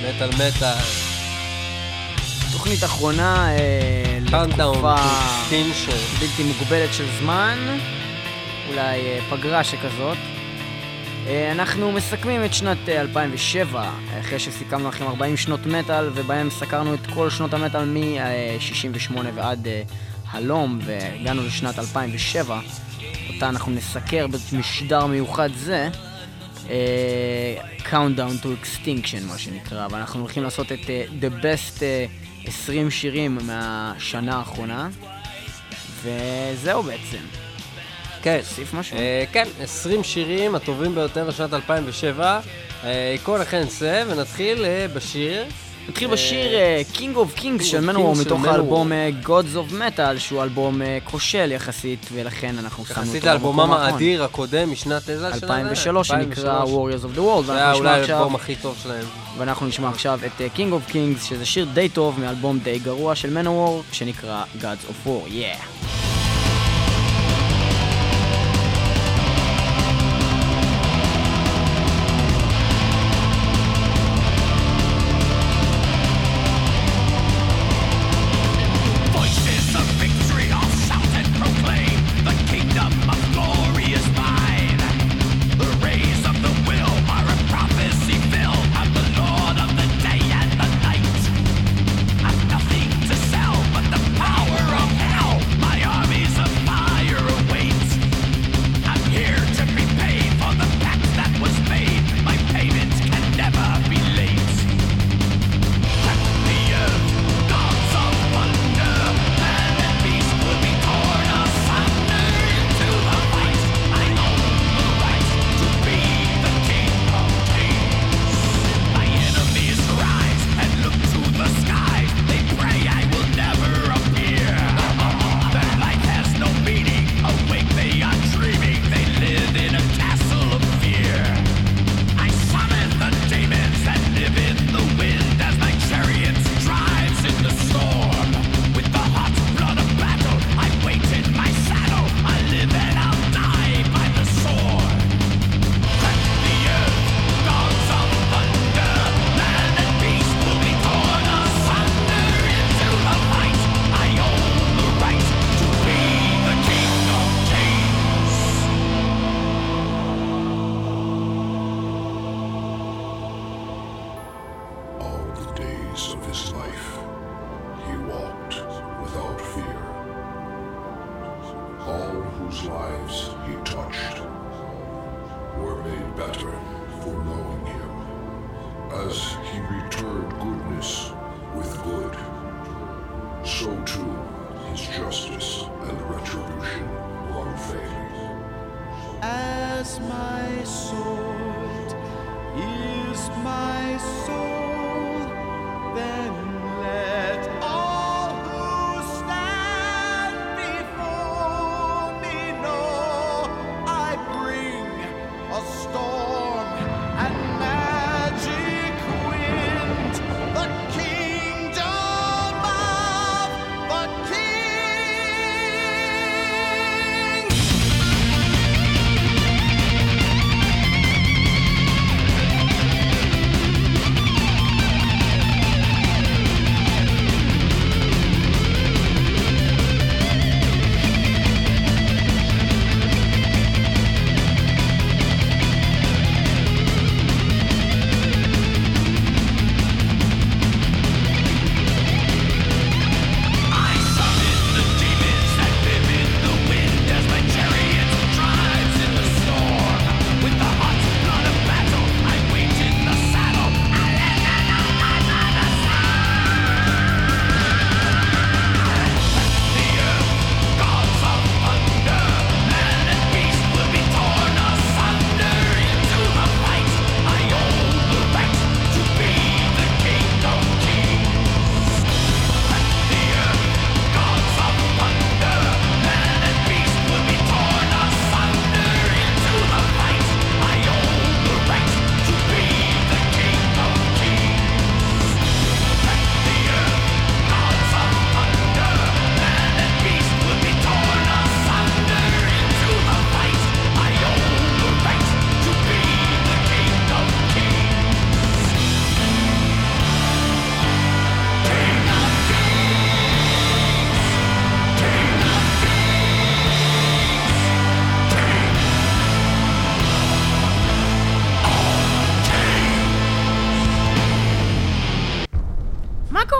מטל. תוכנית אחרונה לתקופה בלתי מוגבלת של זמן, אולי פגרה שכזאת. אנחנו מסכמים את שנת 2007, אחרי שסיכמנו לכם 40 שנות מטל, ובהם סקרנו את כל שנות המטל מ-68 ועד הלום, והגענו לשנת 2007, אותה אנחנו נסקר במשדר מיוחד זה, Countdown to Extinction מה שנקרא, ואנחנו הולכים לעשות את The Best 20 שירים מהשנה האחרונה, וזהו בעצם. כן. תוסיף משהו? כן, 20 שירים הטובים ביותר לשנת 2007. כל לכן נצא ונתחיל בשיר. נתחיל בשיר King of Kings של מנוור מתוך האלבום Gods of Metal, שהוא אלבום כושל יחסית, ולכן אנחנו שמנו אותו יחסית לאלבומם האדיר הקודם משנת 2003 שנקרא Warriors of the World. זה היה אולי האלבום הכי טוב שלהם. ואנחנו נשמע עכשיו את King of Kings, שזה שיר די טוב מאלבום די גרוע של מנוור שנקרא Gods of War. Yeah!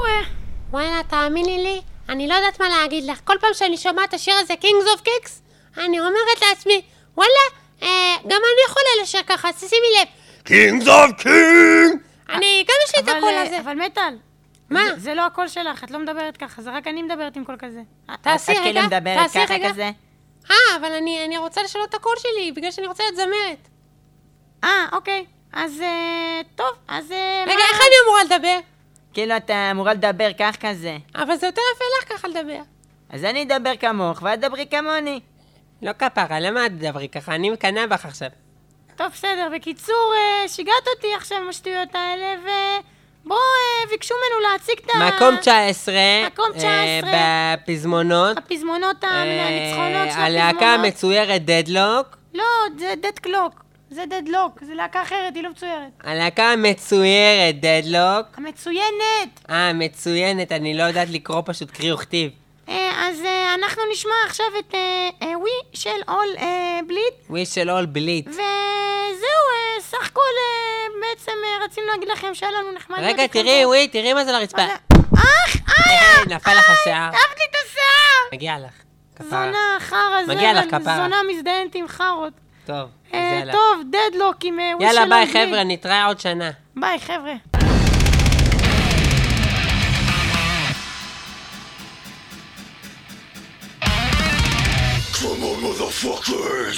וואלה, תאמיני לי, אני לא יודעת מה להגיד לך. כל פעם שאני שומעת את השיר הזה, Kings of Kicks, אני אומרת לעצמי, וואלה, גם אני יכולה לשיר ככה, שימי לב. Kings of Kings! אני, גם יש לי את הקול הזה. אבל מטל. מה? זה לא הקול שלך, את לא מדברת ככה, זה רק אני מדברת עם קול כזה. תעשי רגע, את כאילו מדברת ככה כזה? אבל אני רוצה לשנות את הקול שלי, בגלל שאני רוצה להיות זמרת. אוקיי. אז, טוב, אז... רגע, איך אני אמורה לדבר? כאילו אתה אמורה לדבר כך כזה. אבל זה יותר יפה לך ככה לדבר. אז אני אדבר כמוך, ואת דברי כמוני. לא כפרה, למה את דברי ככה? אני מקנא בך עכשיו. טוב, בסדר. בקיצור, שיגעת אותי עכשיו עם השטויות האלה, ובואו, ביקשו ממנו להציג את מקום 19. מקום 19. בפזמונות. הפזמונות הניצחונות של הפזמונות. הלהקה המצוירת דדלוק. לא, זה דדקלוק. זה דדלוק, זה להקה אחרת, היא לא מצוירת. הלהקה המצוירת דדלוק. המצוינת. מצוינת, אני לא יודעת לקרוא פשוט קריא וכתיב. אז אנחנו נשמע עכשיו את ווי של אול בליט. ווי של אול בליט. וזהו, סך הכל בעצם רצינו להגיד לכם שהיה לנו נחמד. רגע, תראי, ווי, תראי מה זה לרצפה. נפל לך השיער. אהבת לי את השיער. מגיע לך. זונה, חרה, מגיע לך כפרה. זונה מזדיינת עם חרות. טוב, אז יאללה. טוב, דדלוק עם ווי של יאללה, אול ביי בליט. חבר'ה, נתראה עוד שנה. ביי חבר'ה. Come on, motherfuckers!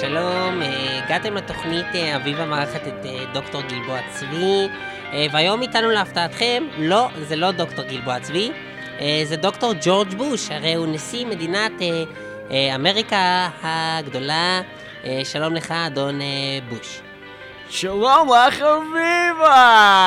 שלום, הגעתם לתוכנית אביב המערכת את דוקטור גלבוע צבי, והיום איתנו להפתעתכם, לא, זה לא דוקטור גלבוע צבי, זה דוקטור ג'ורג' בוש, הרי הוא נשיא מדינת אמריקה הגדולה. שלום לך, אדון בוש. שלום לך, אביבה!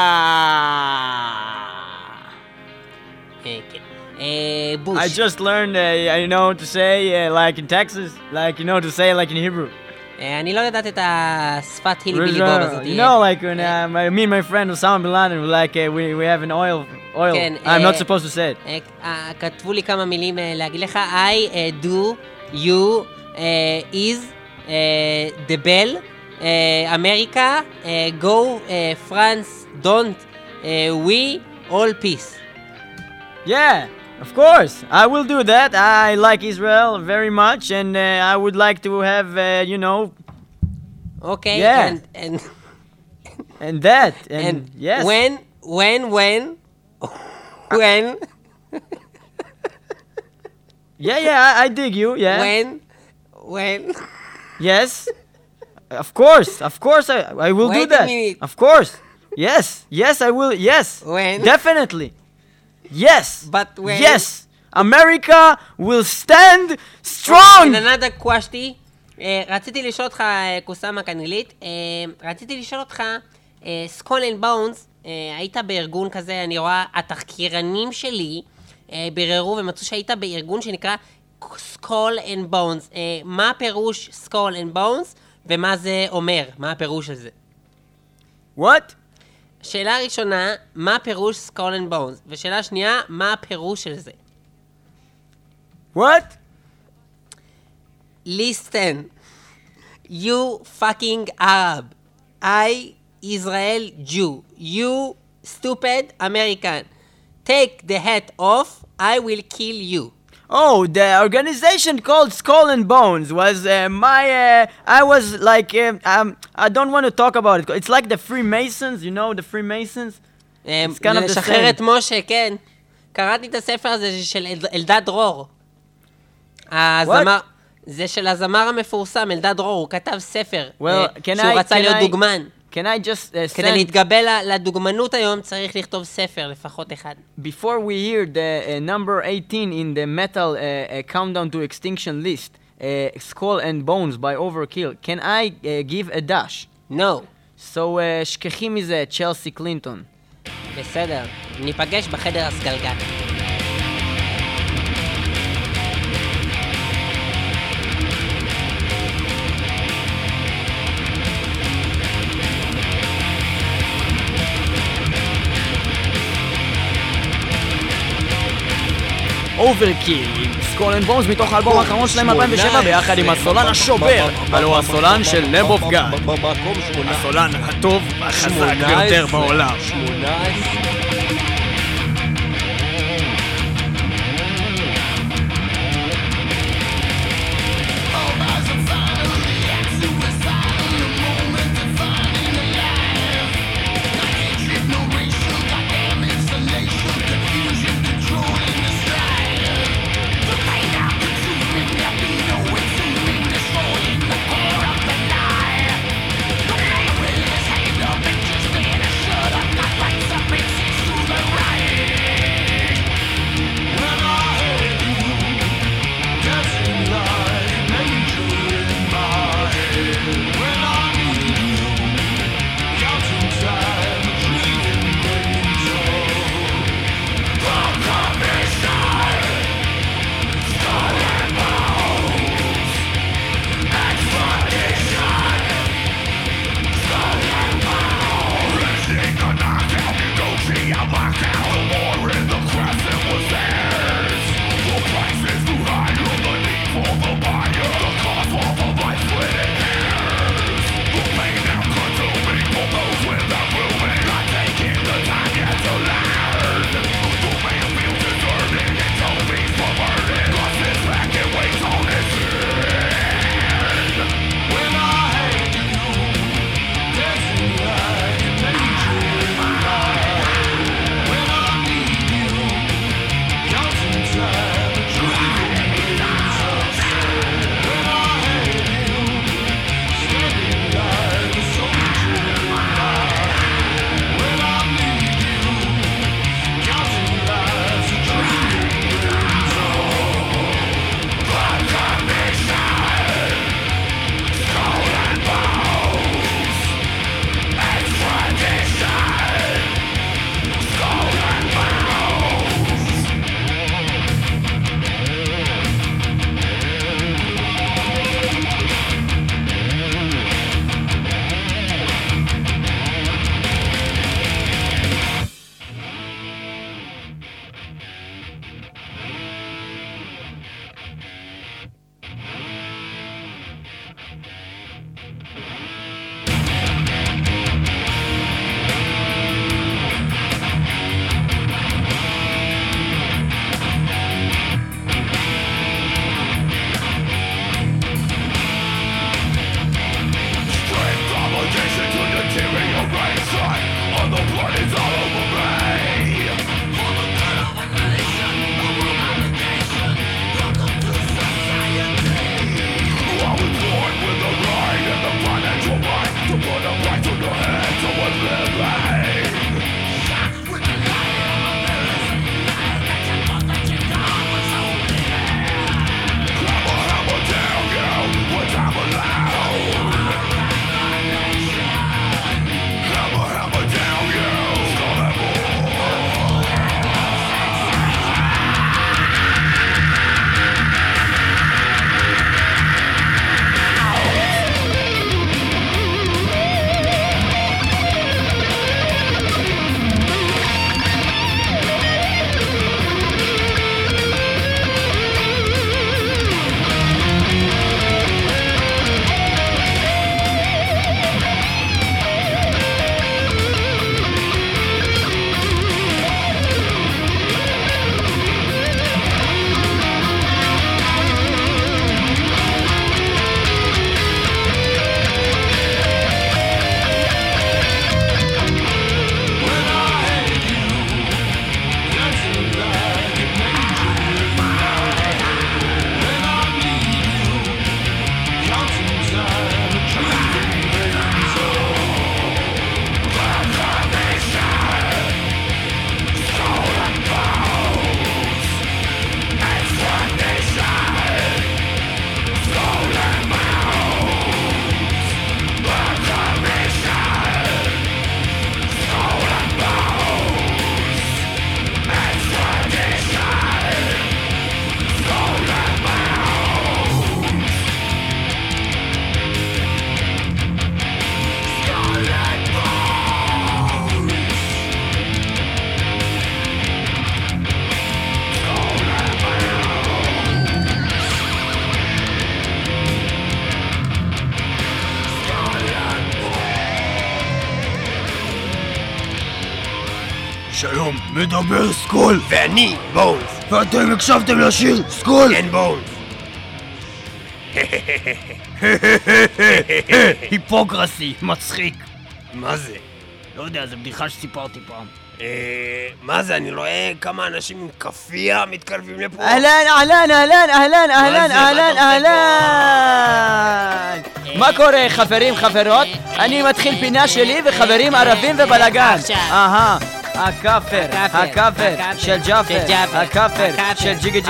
כן. בוש. I just learned, to say like in Texas, to say like in Hebrew. אני לא יודעת את השפת הילי בילי בוב הזאת. Like when me and my friend Osama bin Laden, we have an oil. כן, I'm not supposed to say it. כתבו לי כמה מילים להגיד לך. I, do, you, is, the bell, America, go, France, don't, we, all peace. Yeah, of course. I will do that. I like Israel very much, and I would like to have, Okay. Yeah. And that, and yes. When? Yeah, I dig you. Yeah. When? Yes. Of course, I will do Wait a that. minute. Of course. Yes, I will. Yes. When? Definitely. Yes. But when? Yes. America will stand strong. In another question, רציתי לשאול אותך, קוסאמה קנילית, רציתי לשאול אותך, סקול אנד בונס, היית בארגון כזה, אני רואה, התחקירנים שלי ביררו ומצאו שהיית בארגון שנקרא סקול אנד בונס. מה הפירוש סקול אנד בונס ומה זה אומר? מה הפירוש של זה? What? שאלה ראשונה, מה הפירוש סקול אנד בונס? ושאלה שנייה, מה הפירוש של זה? What? Listen, you fucking Arab. I, Israel Jew. You, stupid American. Take the hat off, I will kill you. Oh, the organization called Skull and Bones was I was like, I don't want to talk about it. It's like the Freemasons, the Freemasons? It's kind of the לשחרר same. את משה, כן. קראתי את הספר הזה של אלדד דרור. זה של הזמר המפורסם, אלדד דרור, הוא כתב ספר, שהוא רצה להיות דוגמן. Can I just כדי להתגבל לדוגמנות היום צריך לכתוב ספר, לפחות אחד. Before we hear the number 18 in the metal countdown to extinction list, Skull and Bones by Overkill, can I give a dash? No. So, שכחי מזה, צ'לסי קלינטון. בסדר, ניפגש בחדר הסגלגל. אוברקיל עם סקול אנד בונס מתוך האלבום האחרון שלהם 2007 ביחד עם הסולן השובר, הלוא הסולן של Lamb of God, הסולן הטוב והחזק ביותר בעולם. Pixie מדבר סקול. ואני בונס. ואתם הקשבתם לשיר סקול אנד בונס. היפוקרסי, מצחיק. מה זה? לא יודע, זו בדיחה שסיפרתי פעם. מה זה? אני רואה כמה אנשים עם כפייה מתקרבים לפה. אהלן. מה קורה, חברים, חברות? אני מתחיל פינה שלי וחברים ערבים ובלגן. הכאפר של ג'אפר, הכאפר של ג'יגי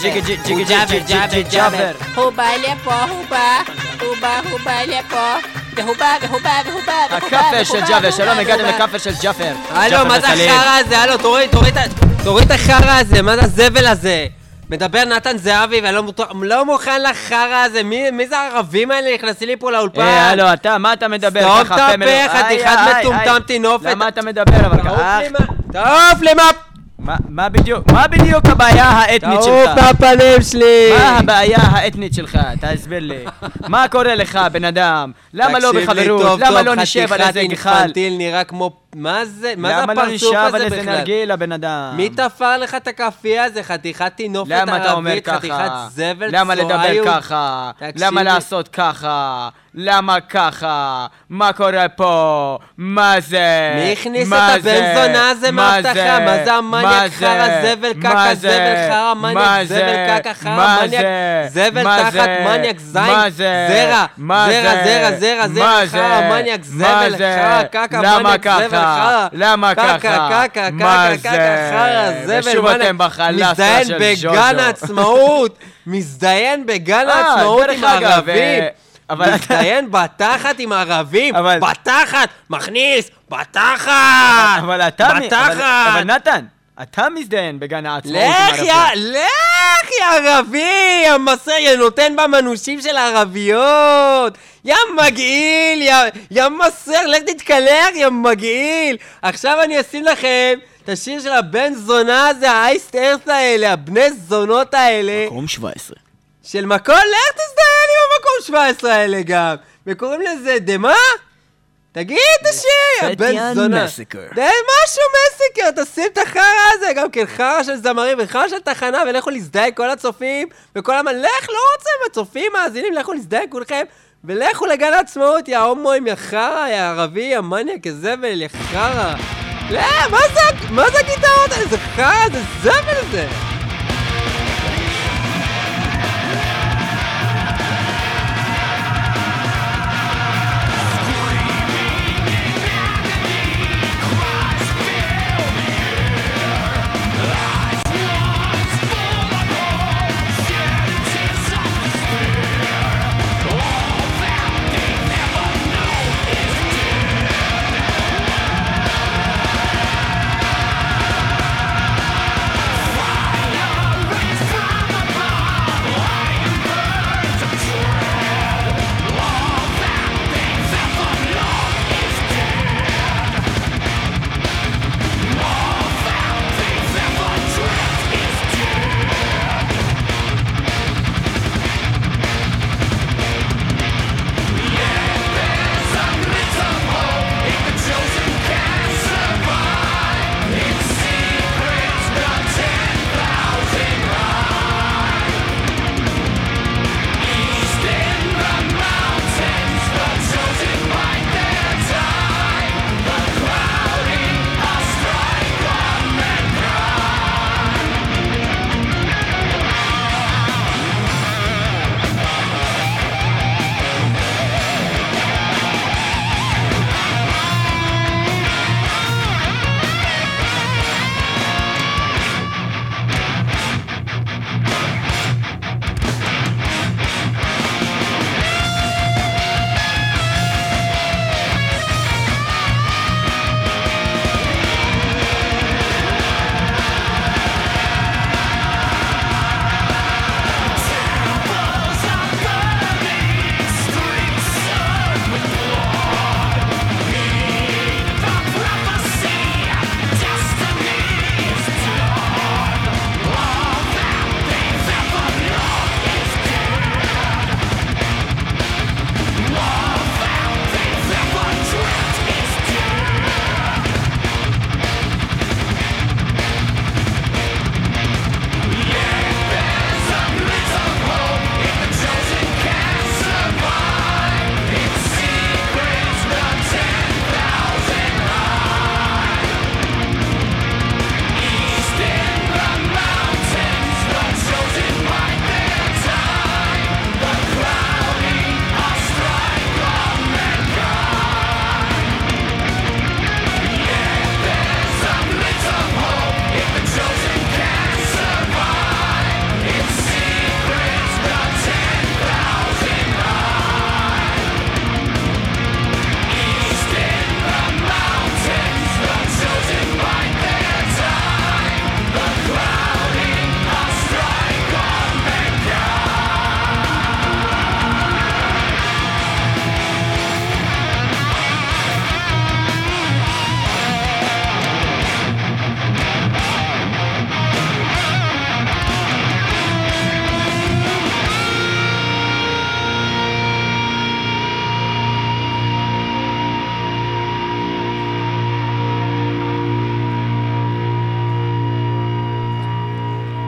ג'אפר. הוא בא לפה, הוא בא לפה. והוא בא. הכאפר של ג'אפר, שלום, הגעתם לכאפר של ג'אפר. הלו, מה זה החרא הזה? הלו, תוריד את החרא הזה, מה זה הזבל הזה? מדבר נתן זהבי ואני לא מוכן לחרא הזה. מי זה הערבים האלה נכנסים לי פה לאולפן? הלו, אתה, מה אתה מדבר? סתום את הפה, חתיכת מטומטם תינופת. למה אתה מדבר אבל ככה? תעוף למה? מה בדיוק הבעיה האתנית שלך? תעוף מהפנים שלי! מה הבעיה האתנית שלך? תסביר לי. מה קורה לך, בן אדם? למה לא בחברות? למה לא נשב על איזה גחל? אינפנטיל נראה כמו... מה זה? מה זה למה לא הפרצוף נשב הזה על איזה בכלל? נרגילה, בן אדם? מי תפר לך את הכאפיה הזה? חתיכת תינופת למה אתה אומר ערבית, ככה? חתיכת זבל למה לדבר צועיות? ככה? תקשיב למה לי. לעשות ככה? למה ככה? מה קורה פה? מה זה? מי הכניס מה את הבן זה? זונה הזה מהבטחה? מה זה המניאק חרא זבל קקה זבל חרא מניאק זבל קקה חרא מניאק זבל תחת מניאק זין זרע חרא מניאק זבל חרא קקה מניאק זבל חרא למה ככה? מה זה? חרא זבל ושוב אתם בחלסה של ג'וז'ו. מזדיין בגן העצמאות עם הערבים. מזדיין בתחת עם הערבים, בתחת, מכניס, בתחת, אבל אתה, בתחת. אבל נתן, אתה מזדיין בגן העצמאות עם ערבים. לך יא ערבי, יא מסר, נותן במנושים של הערביות. יא מגעיל, יא מסר, לך תתקלח, יא מגעיל. עכשיו אני אשים לכם את השיר של הבן זונה הזה, האייסט ארס האלה, הבני זונות האלה. מקום 17. של מקום, לך תזדיין עם המקום 17 האלה גם. וקוראים לזה דמה? תגיד את השיר, בן זונה. די משהו מסיקר, תשים את החרא הזה, גם כן חרא של זמרים וחרא של תחנה, ולכו להזדיין כל הצופים, וכל לך, לא רוצה, הצופים, מאזינים, לכו להזדיין כולכם, ולכו לגן העצמאות, יא הומואים, יא חרא, יא ערבי, יא מניאק, יא זבל, יא חרא. לא, מה זה הגיטרות האלה? זה חרא, זה זבל זה.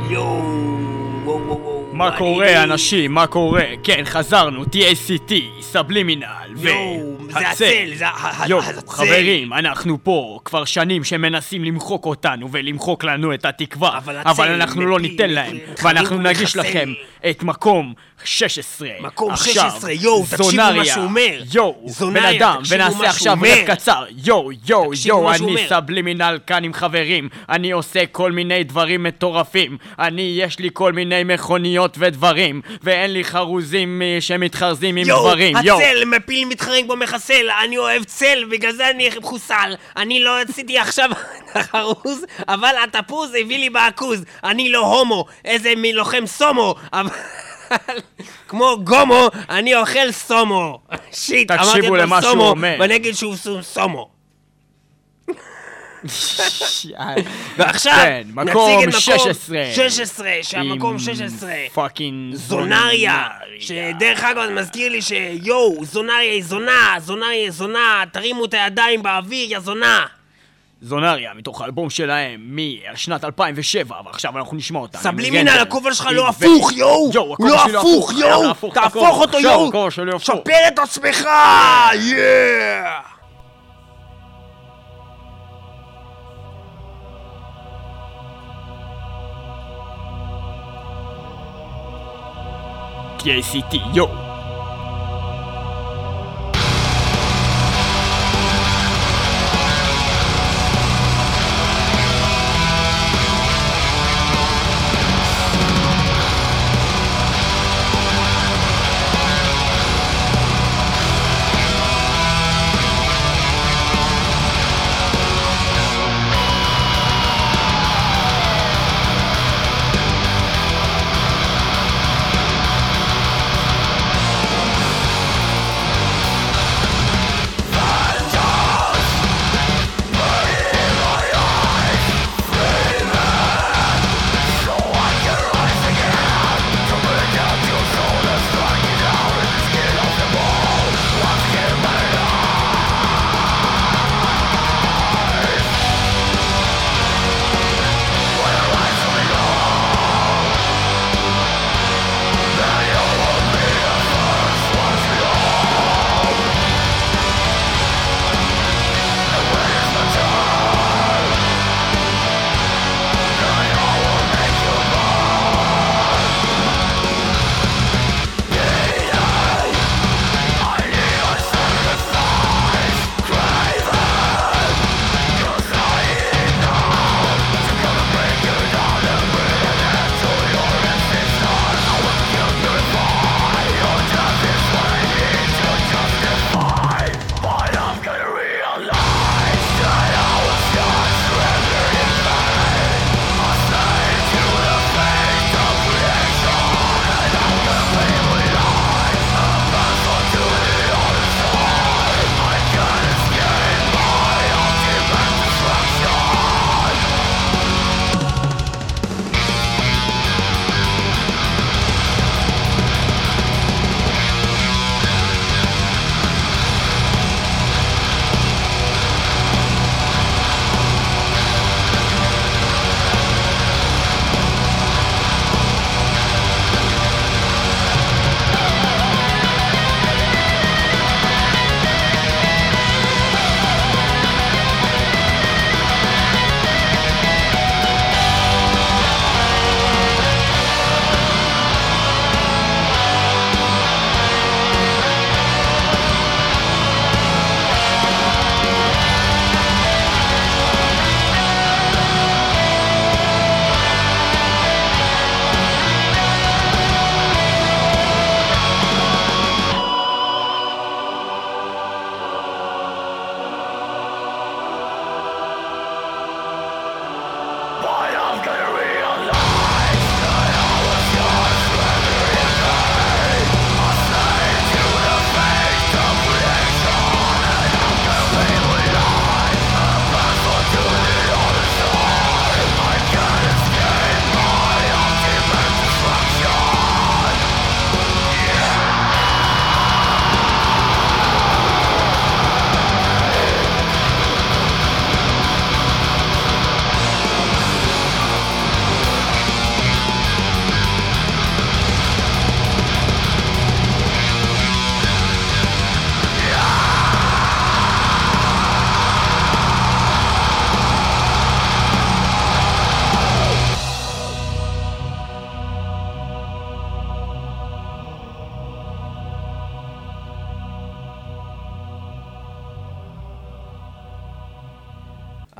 מה קורה אנשים? מה קורה? כן, חזרנו, TACT, סבלימינל זה הצל, זה הצל. חברים, אנחנו פה כבר שנים שמנסים למחוק אותנו ולמחוק לנו את התקווה, אבל אנחנו לא ניתן להם, ואנחנו נגיש לכם את מקום 16. מקום 16, תקשיבו מה שהוא אומר. בן אדם, ונעשה עכשיו רב קצר. אני סבלימינל כאן עם חברים, אני עושה כל מיני דברים מטורפים, יש לי כל מיני מכוניות ודברים, ואין לי חרוזים שמתחרזים עם דברים. הצל, מפיל מתחרג בו מחסל, אני אוהב צל, בגלל זה אני חוסל. אני לא עשיתי עכשיו חרוז, אבל התפוז הביא לי בעכוז. אני לא הומו, איזה מלוחם סומו, אבל כמו גומו, אני אוכל סומו. שיט, אמרתי לו סומו, ואני אגיד שהוא סומו. ועכשיו מקום 16, שהמקום 16 פאקינג זונריה, שדרך אגב מזכיר לי זונריה היא זונה, תרימו את הידיים באוויר, יא זונה. זונריה, מתוך האלבום שלהם משנת 2007, ועכשיו אנחנו נשמע אותם. סבלימינל, הכובע שלך לא הפוך, הוא לא הפוך, תהפוך אותו, שפר את עצמך, TACT,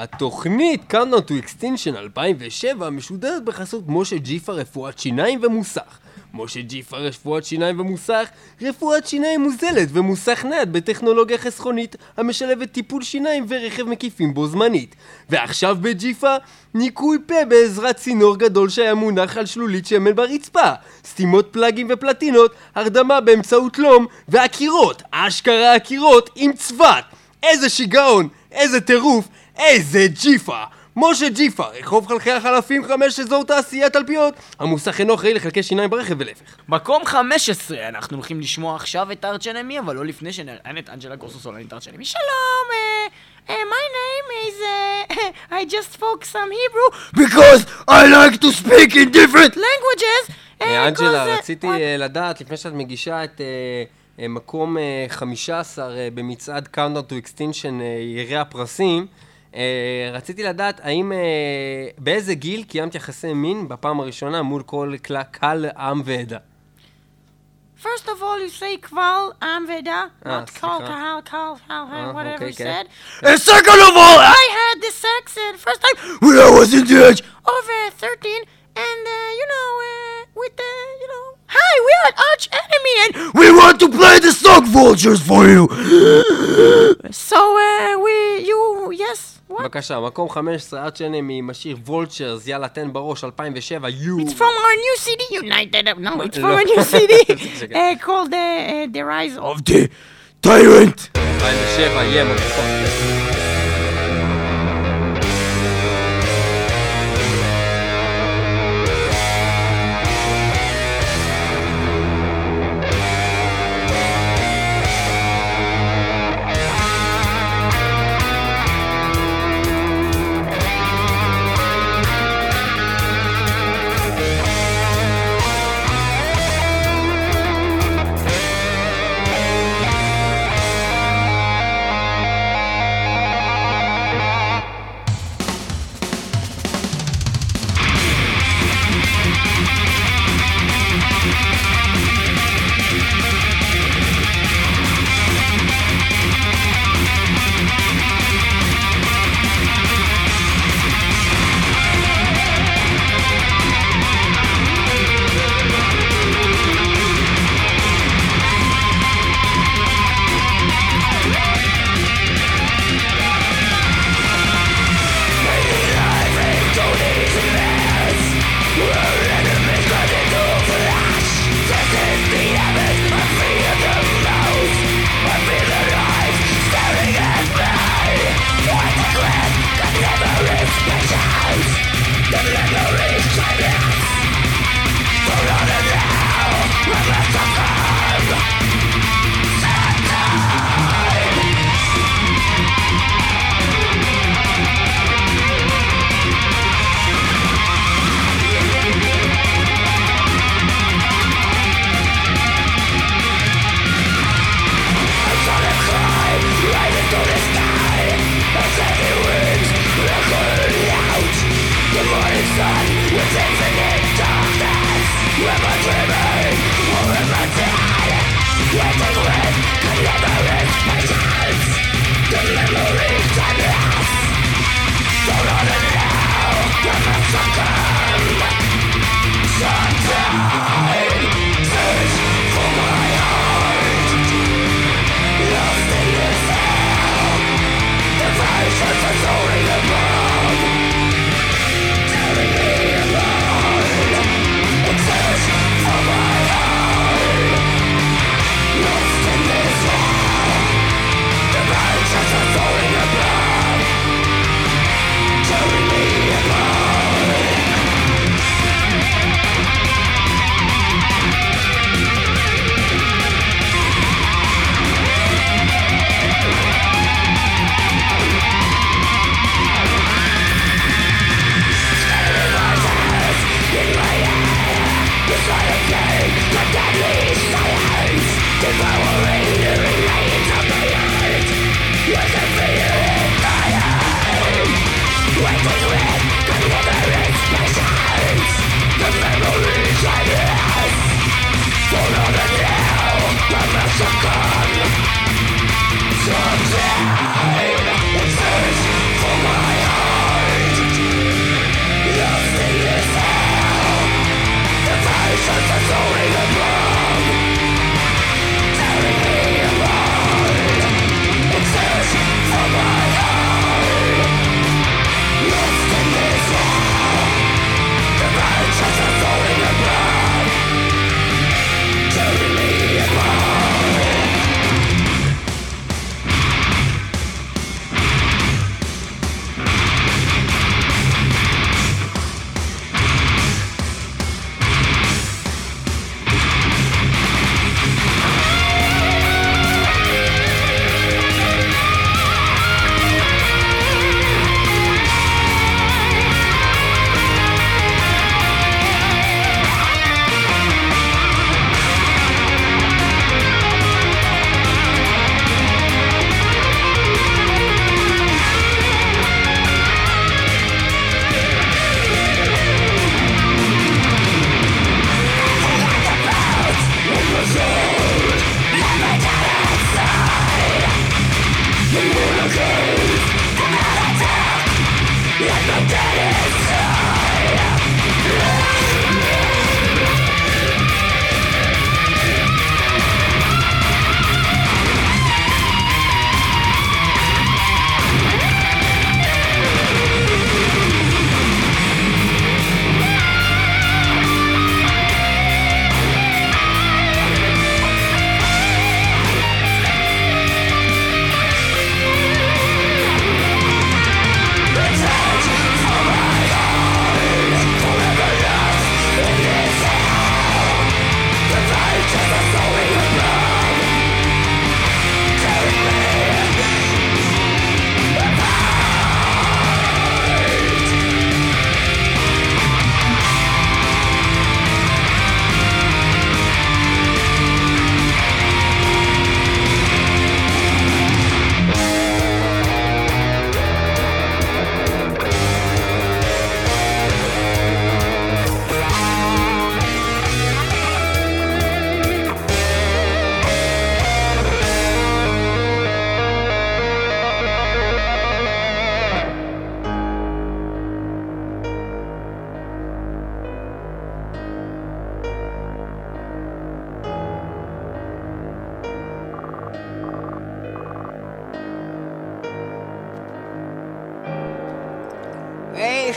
התוכנית Countdown to Extinction 2007 משודרת בחסות משה ג'יפה רפואת שיניים ומוסך. משה ג'יפה רפואת שיניים ומוסך, רפואת שיניים מוזלת ומוסך נייד בטכנולוגיה חסכונית המשלבת טיפול שיניים ורכב מקיפים בו זמנית. ועכשיו בג'יפה, ניקוי פה בעזרת צינור גדול שהיה מונח על שלולית שמן ברצפה, סתימות פלאגים ופלטינות, הרדמה באמצעות לום, והקירות, אשכרה הקירות עם צוות. איזה שיגעון, איזה טירוף, איזה ג'יפה! משה ג'יפה, רחוב חלקי החלפים 5 אזור תעשייה תלפיות. המוסך אינו אחראי לחלקי שיניים ברכב ולהפך. מקום 15, אנחנו הולכים לשמוע עכשיו את ארץ' אנמי, אבל לא לפני שנראיין את אנג'לה גורסוסולנית את ארץ' אנמי. שלום, my name is, I just spoke some Hebrew Because I like to speak in different languages. אנג'לה, רציתי לדעת, לפני שאת מגישה את מקום 15 במצעד Countdown to Extinction ירי הפרסים, רציתי לדעת האם באיזה גיל קיימת יחסי מין בפעם הראשונה מול כל קהל עם ועדה? First of all, you say קבל עם ועדה, not קהל, whatever you said. And second of all, I had this accent first time when I was in the age of 13, and with the, hi, we are Arch Enemy, and we want to play the song Vultures for you. So, yes, what? בבקשה, מקום 15, ארץ' אנמי עם השיר Vultures, יאללה תן בראש, 2007, It's from our new CD, it's from our new CD, called The Rise of the Tyrant. 2007, מotherfucker.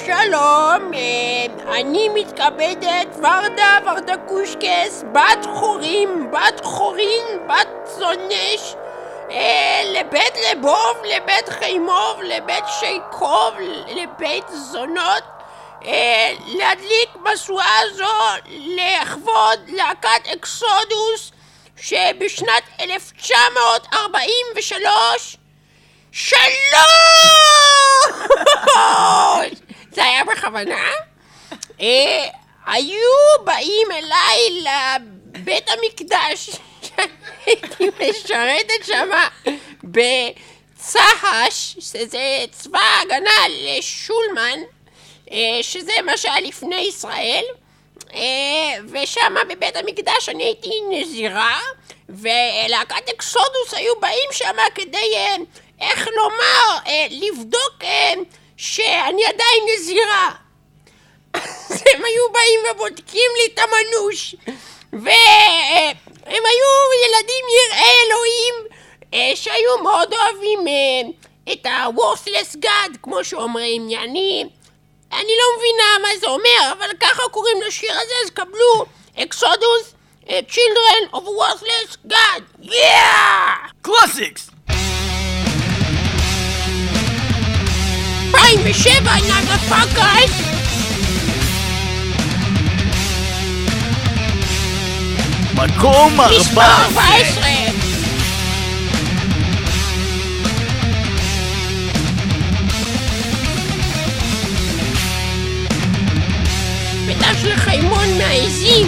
שלום, אני מתכבדת ורדה קושקס, בת חורין, בת זונש, לבית לבוב, לבית חיימוב, לבית שייקוב, לבית זונות, להדליק משואה זו לכבוד להקת אקסודוס שבשנת 1943 שלום! זה היה בכוונה? היו באים אליי לבית המקדש שהייתי משרתת שמה בצה"ש, שזה צבא ההגנה לשולמן, שזה מה שהיה לפני ישראל, ושמה בבית המקדש אני הייתי נזירה, ולהקת אקסודוס היו באים שמה כדי, איך לומר, לבדוק שאני עדיין נזירה. אז הם היו באים ובודקים לי את המנוש, והם היו ילדים יראי אלוהים שהיו מאוד אוהבים את ה-worthless God, כמו שאומרים. אני לא מבינה מה זה אומר, אבל ככה קוראים לשיר הזה, אז קבלו אקסודוס, Children of a Worthless God. Yeah! Classics! 2007, motherfuckers! מקום 14! בטח של חיימון מהעזים.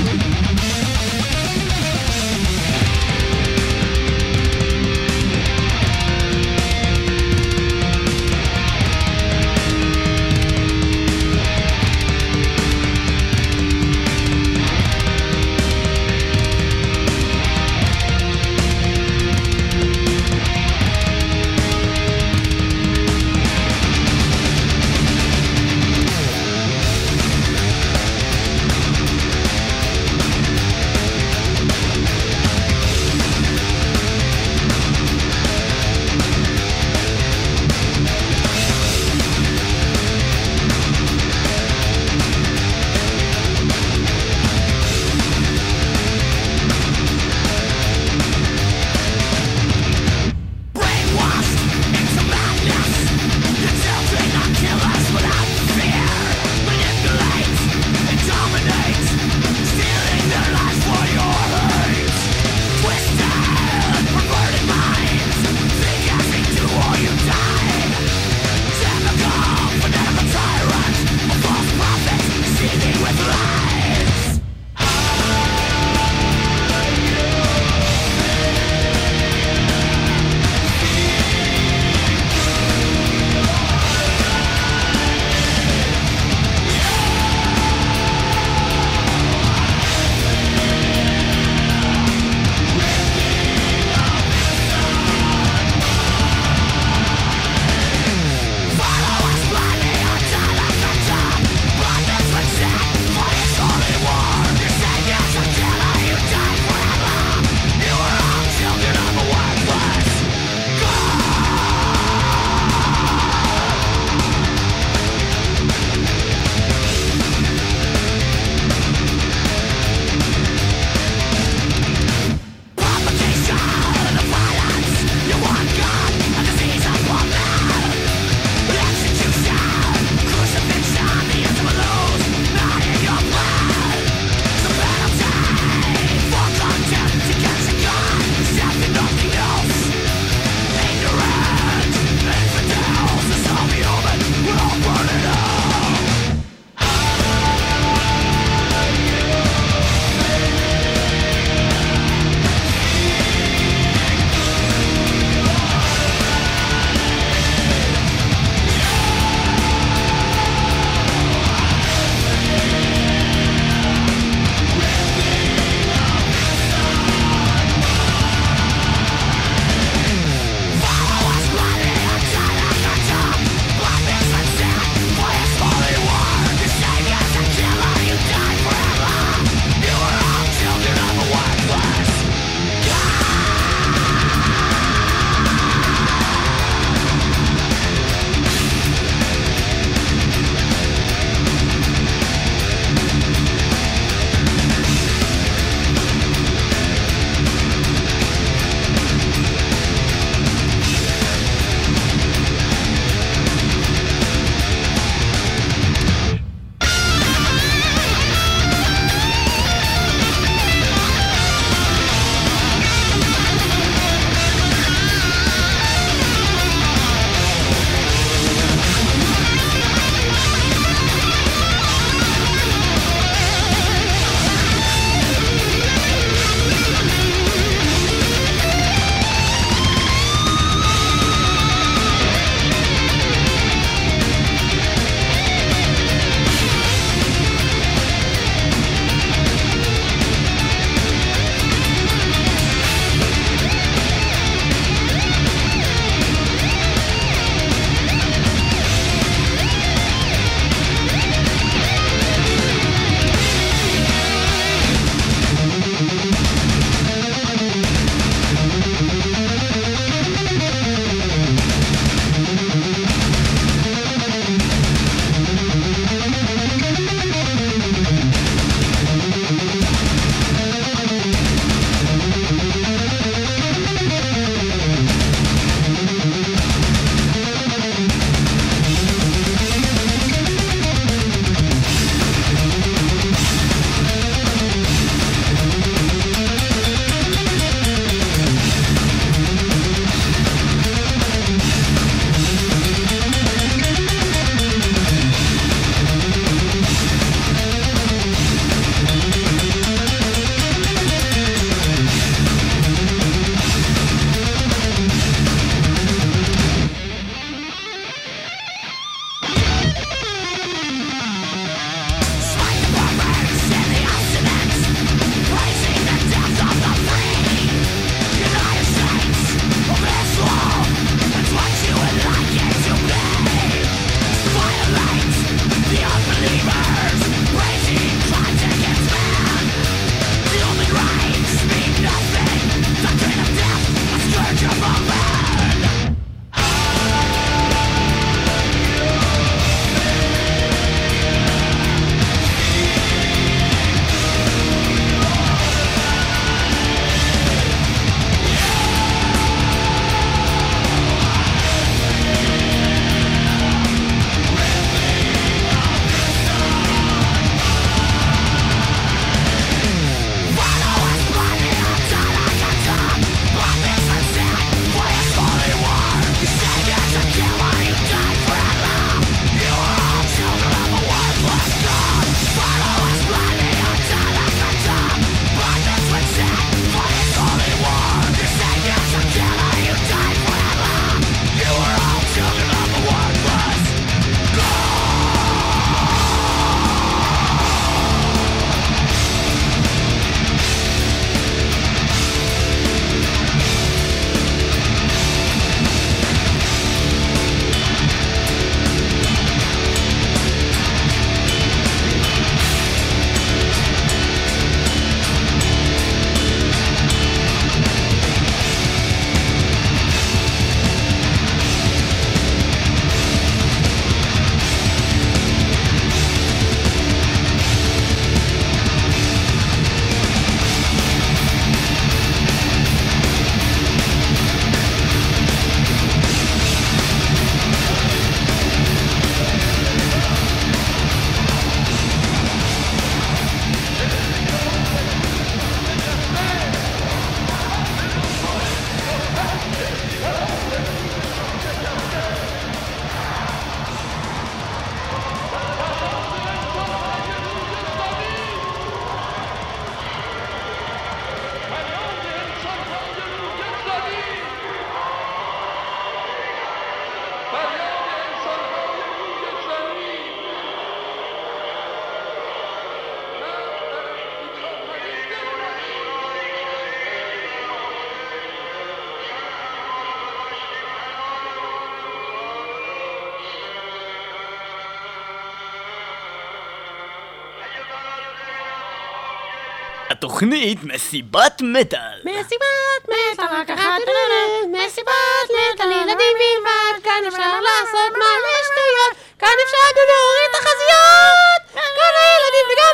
התוכנית מסיבת מטל. מסיבת מטל, רק אחת מסיבת מטל, ילדים בלבד, כאן אפשר לעשות מלא שטויות, כאן אפשר גם להוריד תחזיות, כאן הילדים וגם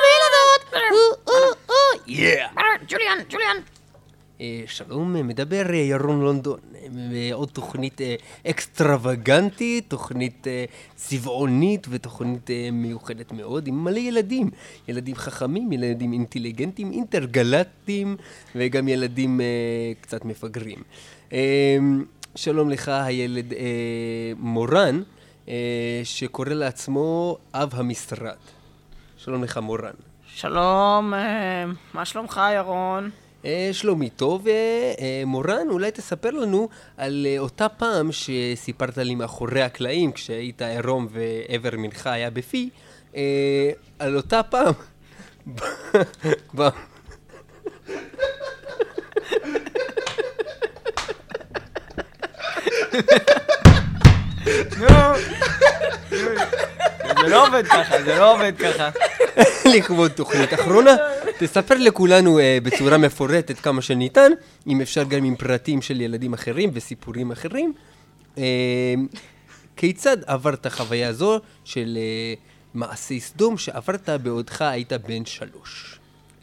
הילדות. ג'וליאן. שלום, מדבר ירון לונדון, עוד תוכנית אקסטרווגנטית, תוכנית צבעונית ותוכנית מיוחדת מאוד עם מלא ילדים, ילדים חכמים, ילדים אינטליגנטים, אינטרגלטיים וגם ילדים קצת מפגרים. שלום לך הילד מורן, שקורא לעצמו אב המשרד. שלום לך מורן. שלום, מה שלומך ירון? שלומי טוב. מורן, אולי תספר לנו על אותה פעם שסיפרת לי מאחורי הקלעים כשהיית עירום ועבר מנחה היה בפי, על אותה פעם זה לא עובד ככה. לכבוד תוכנית אחרונה, תספר לכולנו בצורה מפורטת כמה שניתן, אם אפשר גם עם פרטים של ילדים אחרים וסיפורים אחרים, כיצד עברת חוויה זו של מעשי סדום שעברת בעודך היית בן 3.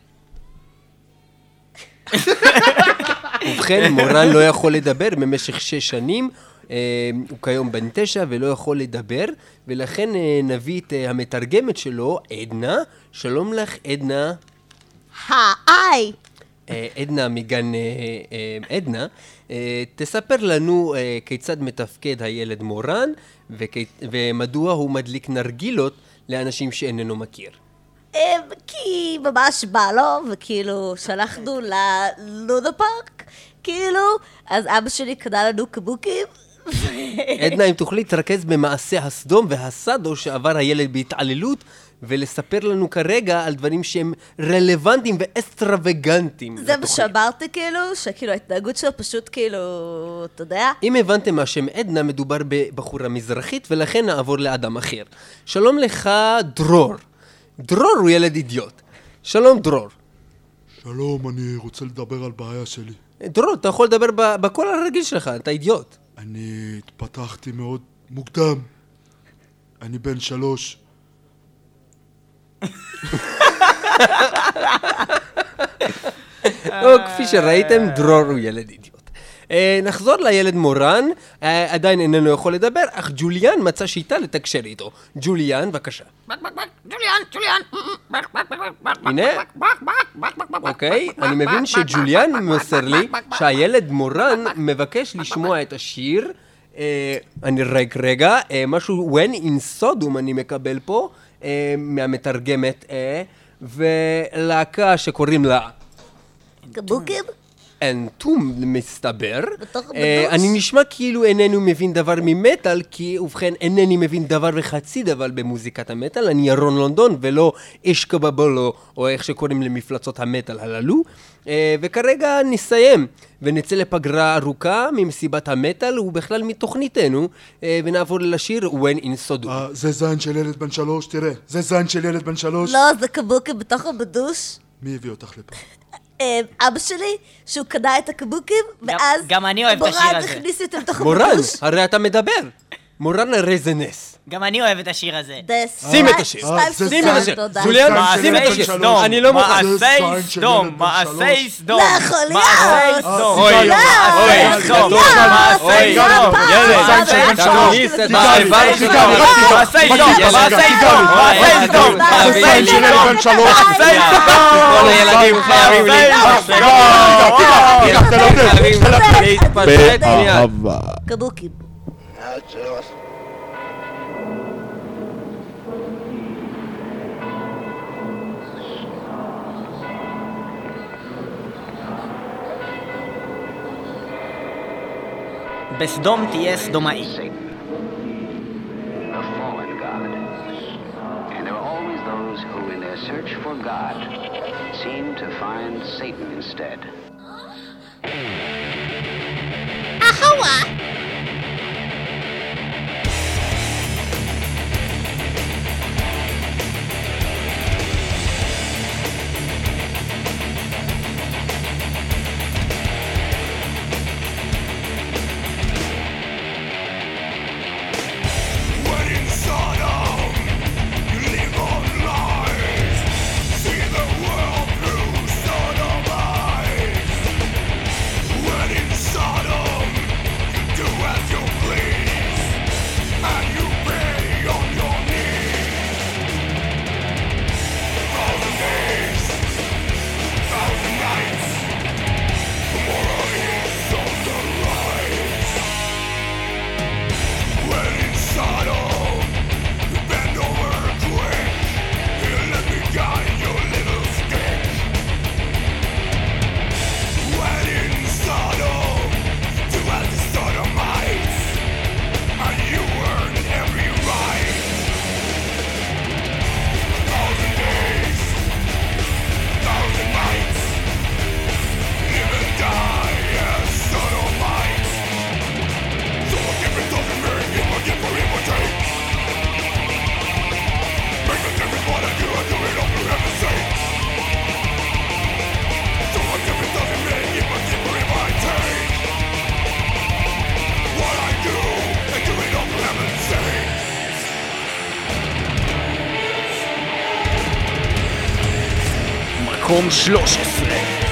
ובכן, מורן לא יכול לדבר במשך 6 שנים, הוא כיום בן 9 ולא יכול לדבר, ולכן נביא את המתרגמת שלו, עדנה. שלום לך עדנה. היי. עדנה מגן עדנה, תספר לנו כיצד מתפקד הילד מורן ומדוע הוא מדליק נרגילות לאנשים שאיננו מכיר. כי ממש בא לו, וכאילו שלחנו ללונה פארק, כאילו, אז אבא שלי קנה לנו קבוקים. עדנה, אם תוכלי להתרכז במעשה הסדום והסדו שעבר הילד בהתעללות, ולספר לנו כרגע על דברים שהם רלוונטיים ואסטרווגנטיים. זה מה שאמרתי כאילו, שכאילו ההתנהגות שלו פשוט כאילו, אתה יודע? אם הבנתם מה שם עדנה, מדובר בבחורה מזרחית, ולכן נעבור לאדם אחר. שלום לך דרור. דרור הוא ילד אידיוט. שלום דרור. שלום, אני רוצה לדבר על בעיה שלי. דרור, אתה יכול לדבר בקול הרגיל שלך, אתה אידיוט. אני התפתחתי מאוד מוקדם. אני בן 3. כפי שראיתם, דרור הוא ילד אידיוט. נחזור לילד מורן, עדיין איננו יכול לדבר, אך ג'וליאן מצא שיטה לתקשר איתו. ג'וליאן, בבקשה. ג'וליאן. הנה, אוקיי, אני מבין שג'וליאן מוסר לי שהילד מורן מבקש לשמוע את השיר. אני רגע, משהו When in Sodom אני מקבל פה מהמתרגמת, ולהקה שקוראים לה קבוקים? אנטום מסתבר. בתוך בדוש? אני נשמע כאילו איננו מבין דבר ממטל, כי ובכן אינני מבין דבר וחצי דבר במוזיקת המטל. אני ירון לונדון ולא אשקה בבולו, או איך שקוראים למפלצות המטל הללו. וכרגע נסיים ונצא לפגרה ארוכה ממסיבת המטל ובכלל מתוכניתנו, ונעבור לשיר When in Sodom. זה זין של ילד בן 3, תראה. זה זין של ילד בן 3. לא, זה קבוקים בתוך הבדוש. מי הביא אותך לפה? אבא שלי, שהוא קנה את הקבוקים, ואז גם אני אוהב את השיר הזה. מורן הכניס אותם לתוך מורן, הבדוש. הרי אתה מדבר. מורן הרי זה נס. גם אני אוהב את השיר הזה. שים את השיר. שים את השיר. ג'וליאן, שים את השיר. אני לא מוכן. מעשי סדום, מעשי סדום. לא יכול להיות. מעשי סדום. אוי, מעשי סדום. מעשי סדום. ילד, תכניס את העבר שלך. מעשי סדום. מעשי סדום. מעשי סדום. זין של ילד בן 3. כל הילדים חייבים להתפשט מיד. קבוקים. בסדום תהיה סדומאי. A fallen god. And there are always those who in their search for God seem to find Satan instead. Ahawa! מקום 13.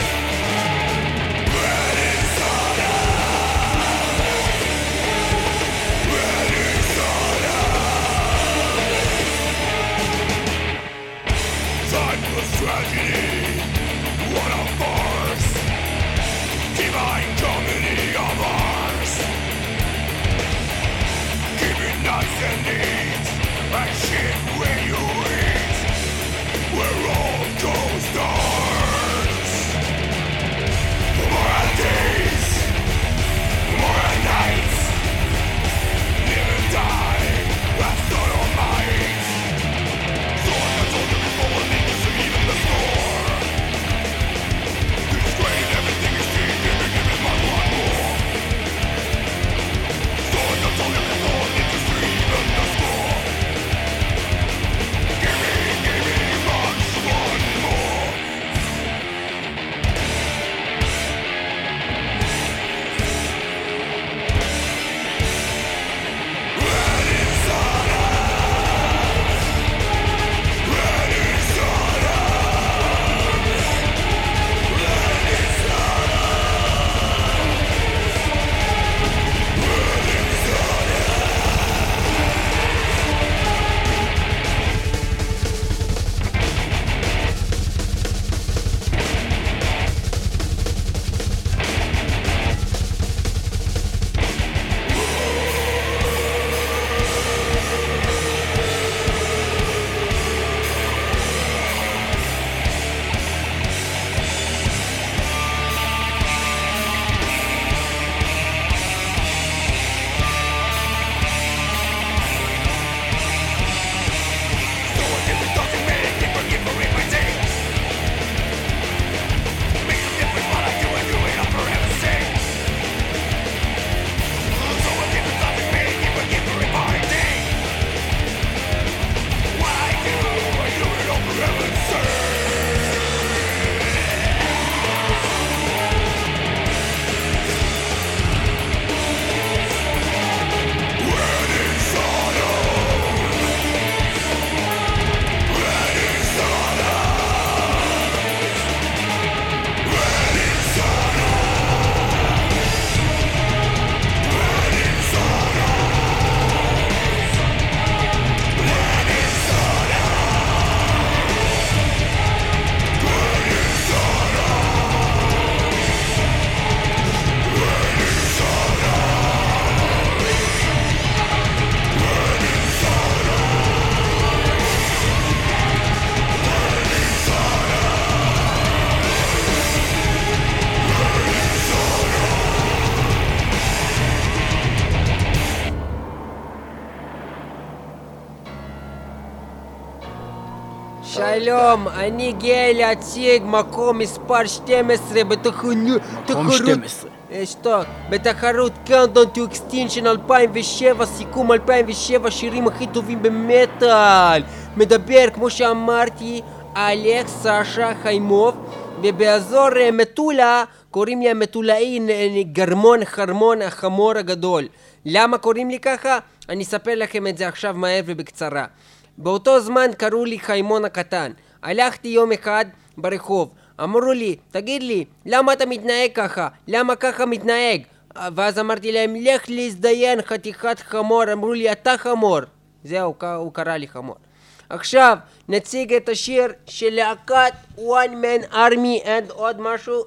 שלום, אני גאה להציג מקום מספר 12 בתחרות... מקום 12. שטוק, בתחרות Countdown to Extinction 2007, סיכום 2007, שירים הכי טובים במטל. מדבר, כמו שאמרתי, אלכס סשה חיימוב, ובאזור מטולה קוראים לי המטולאי גרמון חרמון החמור הגדול. למה קוראים לי ככה? אני אספר לכם את זה עכשיו מהר ובקצרה. באותו זמן קראו לי חיימון הקטן. הלכתי יום אחד ברחוב, אמרו לי, תגיד לי, למה אתה מתנהג ככה? למה ככה מתנהג? ואז אמרתי להם, לך להזדיין חתיכת חמור. אמרו לי, אתה חמור. זהו, הוא קרא לי חמור. עכשיו נציג את השיר של להקת One Man Army and עוד משהו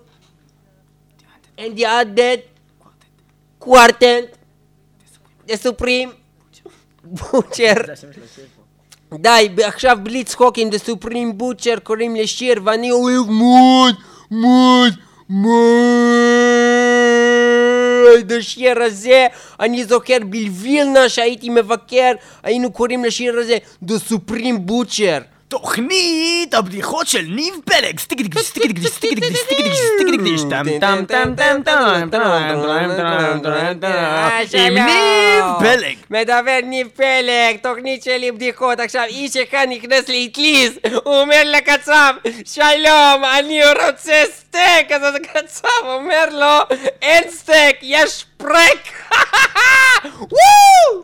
and the Undead Quartet The Supreme Butcher. די, עכשיו בלי צחוקים, The Supreme Butcher קוראים לשיר ואני אוהב מאוד השיר הזה. אני זוכר בלווילנה שהייתי מבקר, היינו קוראים לשיר הזה The Supreme Butcher. תוכנית הבדיחות של ניב פלג. עם ניב פלג. מדבר ניב פלג, תוכנית שלי בדיחות. עכשיו איש אחד נכנס לאטליז, הוא אומר לקצב, שלום, אני רוצה סטייק. אז הקצב אומר לו, אין סטייק, יש פרק. וואו!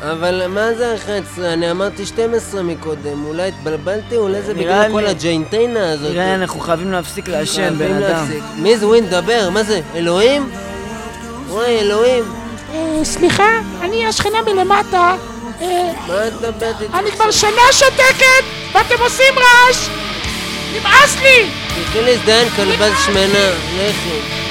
אבל מה זה 11? אני אמרתי 12 מקודם, אולי התבלבלתי, אולי זה בגלל כל הג'יינטיינה הזאת. נראה, אנחנו חייבים להפסיק לעשן, בן אדם. מי זה ווין? דבר, מה זה? אלוהים? וואי, אלוהים. סליחה, אני השכנה מלמטה. מה את מדברת איתי? אני כבר שנה שותקת, ואתם עושים רעש! נמאס לי! תתחיל להזדיין כלבז שמנה, לכי.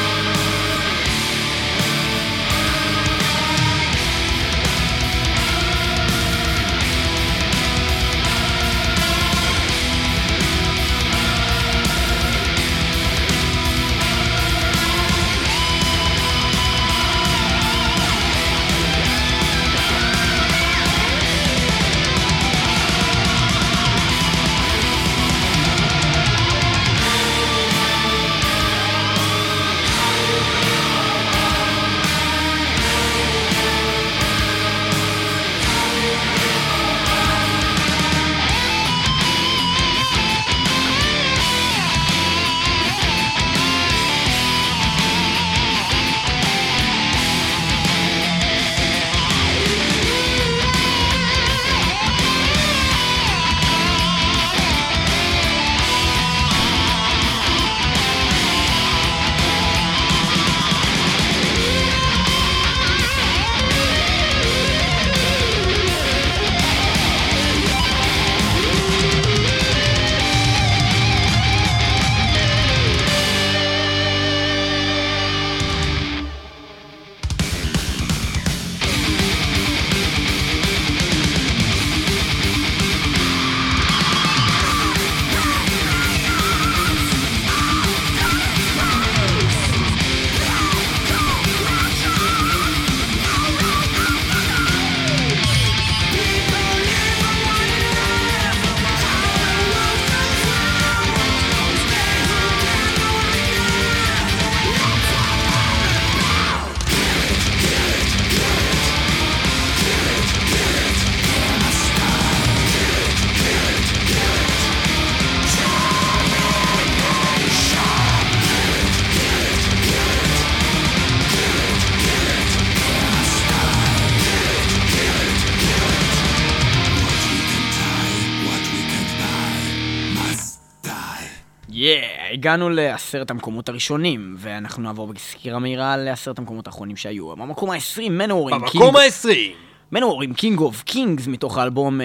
הגענו ל10 המקומות הראשונים, ואנחנו נעבור בסקירה מהירה ל10 המקומות האחרונים שהיו. במקום ה-20, מנוור עם במקום ה-20! מנוור עם King of Kings מתוך האלבום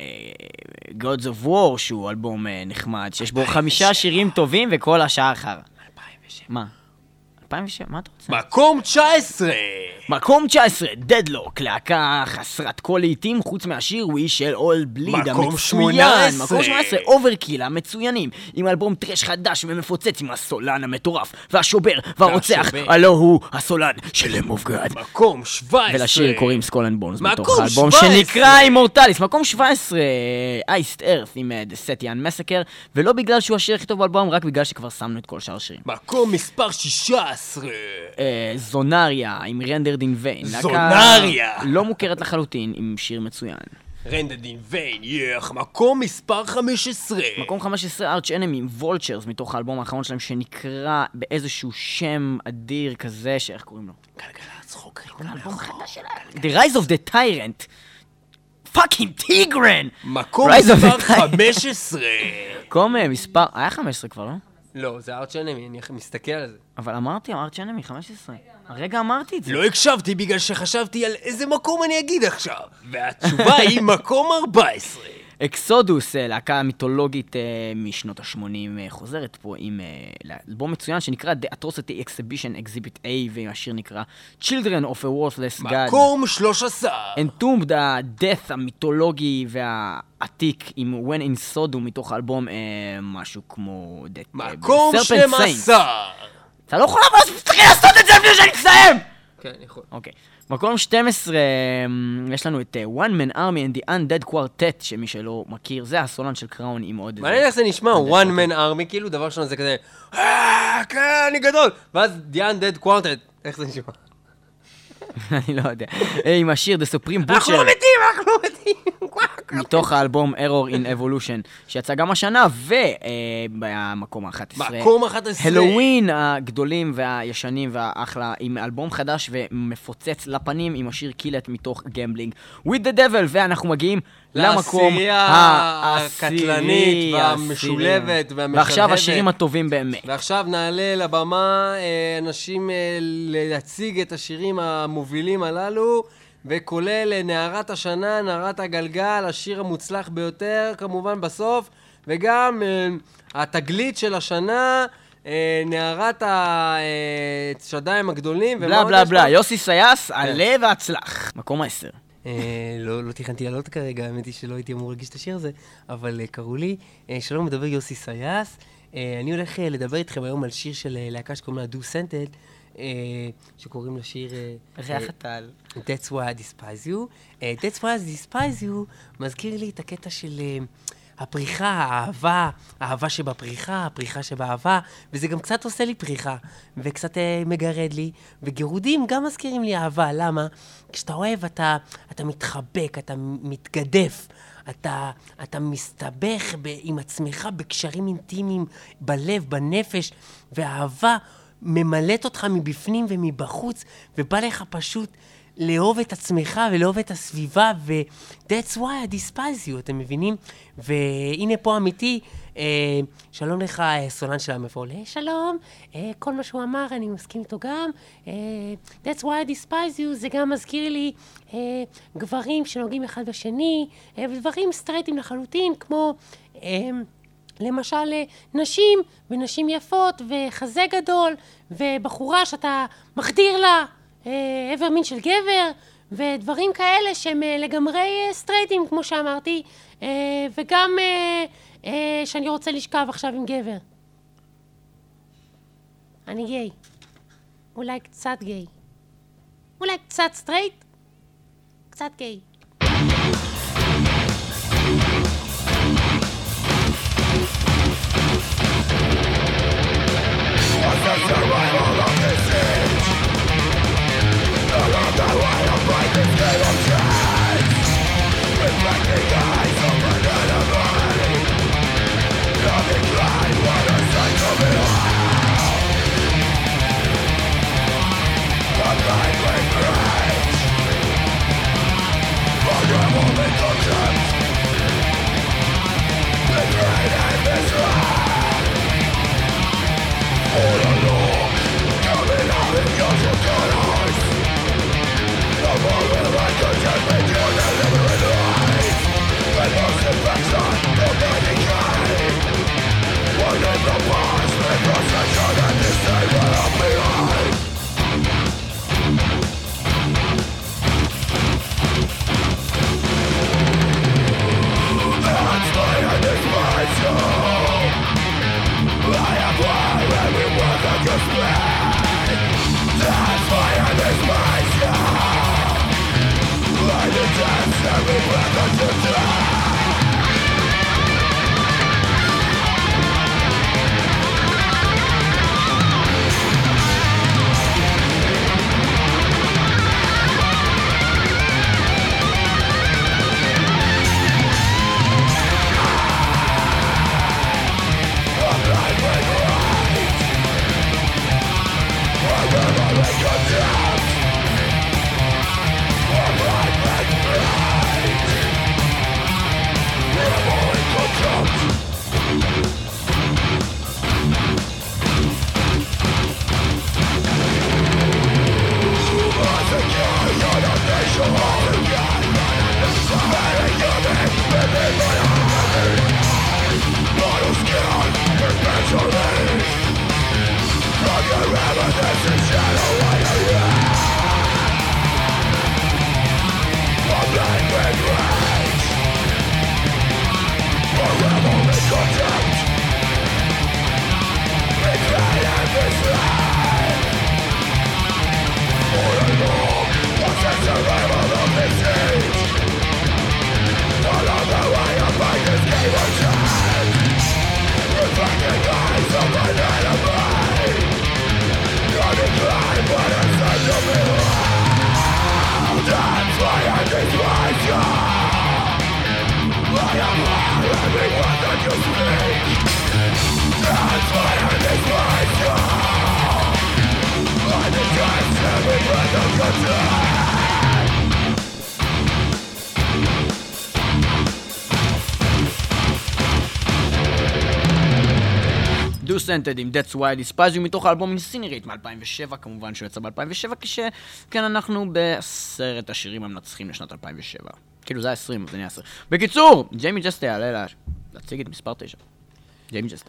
Gods of War, שהוא אלבום נחמד, שיש בו 5 שירים טובים וכל השאר אחר. 2007. מה? 2007? מה אתה רוצה? מקום 19! מקום 19, Deadlock, להקה חסרת כל לעיתים חוץ מהשיר We Shall All Bleed המצוין. מקום 18, Overkill המצוינים, עם אלבום טרש חדש ומפוצץ עם הסולן המטורף והשובר והרוצח, הלא הוא הסולן של Lamb of God. מקום 17. ולשיר קוראים Skull and Bones מתוך האלבום שנקרא Immortalis. מקום 17, Iced Earth עם The Setian Massacre, ולא בגלל שהוא השיר הכי טוב באלבום, רק בגלל שכבר שמנו את כל שאר השירים. מקום מספר 16. זונריה עם Rendered in Vain. זונריה! לא מוכרת לחלוטין, עם שיר מצוין. Rendered in Vain, מקום מספר 15. מקום 15, Arch Enemy עם Vultures מתוך האלבום האחרון שלהם שנקרא באיזשהו שם אדיר כזה, שאיך קוראים לו? גלגלצ חוקרים. האלבום החדש שלהם. The Rise of the Tyrant. פאקינג טיגרן! מקום מספר 15. מקום מספר... היה 15 כבר, לא? לא, זה ארץ' אנמי, אני מסתכל על זה. אבל אמרתי, ארץ' אנמי 15. הרגע אמרתי את זה. לא הקשבתי בגלל שחשבתי על איזה מקום אני אגיד עכשיו. והתשובה היא מקום 14. אקסודוס, להקה מיתולוגית משנות ה-80, חוזרת פה עם אלבום מצוין שנקרא The Atrocity Exhibition Exhibit A, והשיר נקרא Children of a Worthless God. מקום 13. Entombed, ה-Death המיתולוגי והעתיק עם When in Sodom מתוך האלבום משהו כמו... מקום 12. אתה לא יכול לעשות את זה לפני שאני אסיים! כן, יכול. אוקיי. מקום 12, יש לנו את One Man Army and the Undead Quartet, שמי שלא מכיר, זה הסולן של קראון עם עוד... מעניין איך זה נשמע, One Man Army, כאילו דבר שונה זה כזה, כן, אני גדול, ואז The Undead Quartet, איך זה נשמע? אני לא יודע. עם השיר The Supreme Butcher. אנחנו לא מתים! מתוך האלבום Error in Evolution, שיצא גם השנה, ובמקום ה-11. מקום 11. הלואוין הגדולים והישנים והאחלה, עם אלבום חדש ומפוצץ לפנים, עם השיר קילט מתוך גמבלינג. With the Devil, ואנחנו מגיעים למקום הקטלנית והמשולבת והמשלהבת. ועכשיו השירים הטובים באמת. ועכשיו נעלה לבמה אנשים להציג את השירים המובילים הללו, וכולל נערת השנה, נערת הגלגל, השיר המוצלח ביותר כמובן בסוף, וגם התגלית של השנה, נערת השדיים הגדולים. בלה בלה בלה, יוסי סייס, עלה והצלח. מקום 10. לא תכנתי לעלות כרגע, האמת היא שלא הייתי אמור להגיש את השיר הזה, אבל קראו לי. שלום, מדבר יוסי סייס. אני הולך לדבר איתכם היום על שיר של להקה שקוראים לה Do Scented, שקוראים לשיר ריח הטל. That's why I despise you. That's why I despise you מזכיר לי את הקטע של הפריחה, האהבה שבפריחה, הפריחה שבאהבה, וזה גם קצת עושה לי פריחה, וקצת מגרד לי, וגירודים גם מזכירים לי אהבה. למה? כשאתה אוהב, אתה מתחבק, אתה מתגדף, אתה מסתבך עם עצמך בקשרים אינטימיים, בלב, בנפש, והאהבה ממלאת אותך מבפנים ומבחוץ, ובא לך פשוט לאהוב את עצמך ולאהוב את הסביבה, ו-that's why I despise you, אתם מבינים? והנה פה אמיתי, שלום לך, סולן של המפעול. שלום, כל מה שהוא אמר, אני מסכים איתו גם. That's why I despise you, זה גם מזכיר לי גברים שנוגעים אחד בשני, ודברים סטרייטים לחלוטין, כמו למשל נשים, ונשים יפות, וחזה גדול, ובחורה שאתה מחדיר לה עבר מין של גבר, ודברים כאלה שהם לגמרי סטרייטים, כמו שאמרתי, וגם שאני רוצה לשכב עכשיו עם גבר. אני גיי. אולי קצת גיי. אולי קצת סטרייט, קצת גיי. פרודוסנטד עם That's Why I Despise You מתוך האלבום אינסינרייט מ-2007, כמובן שהוא יצא ב-2007, כשכן אנחנו בסרט השירים המנצחים לשנת 2007. כאילו זה ה-20, זה נהיה 10. בקיצור, ג'יימי ג'סטה יעלה להציג את מספר 9. ג'יימי ג'סטה.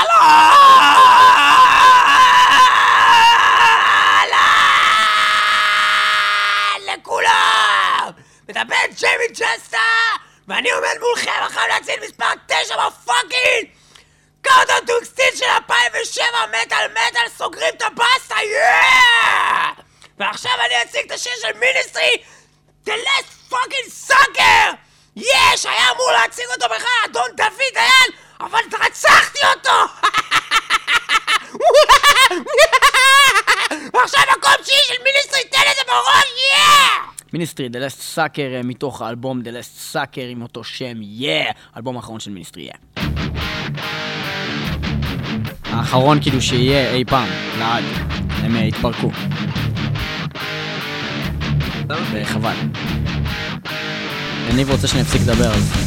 לכולם! מדבר ג'יימי ג'סטה! ואני עומד מולכם עכשיו להציל מספר 9 בפאקינג! קאונטדאון טו אקסטינקשן של 2007 מטל סוגרים את הבאסטה, יאה! ועכשיו אני אציג את השיר של מיניסטרי, The Last Fucking Sucker! יש! היה אמור להציג אותו בכלל אדון דוד דיין, אבל רצחתי אותו! ועכשיו מקום שיעי של מיניסטרי, תן את זה בראש, יאה! מיניסטרי, The Last Sucker מתוך האלבום The Last Sucker עם אותו שם, האלבום האחרון של מיניסטרי, האחרון כאילו שיהיה אי פעם, לעד, הם התפרקו. וחבל. אני רוצה שנפסיק לדבר על זה.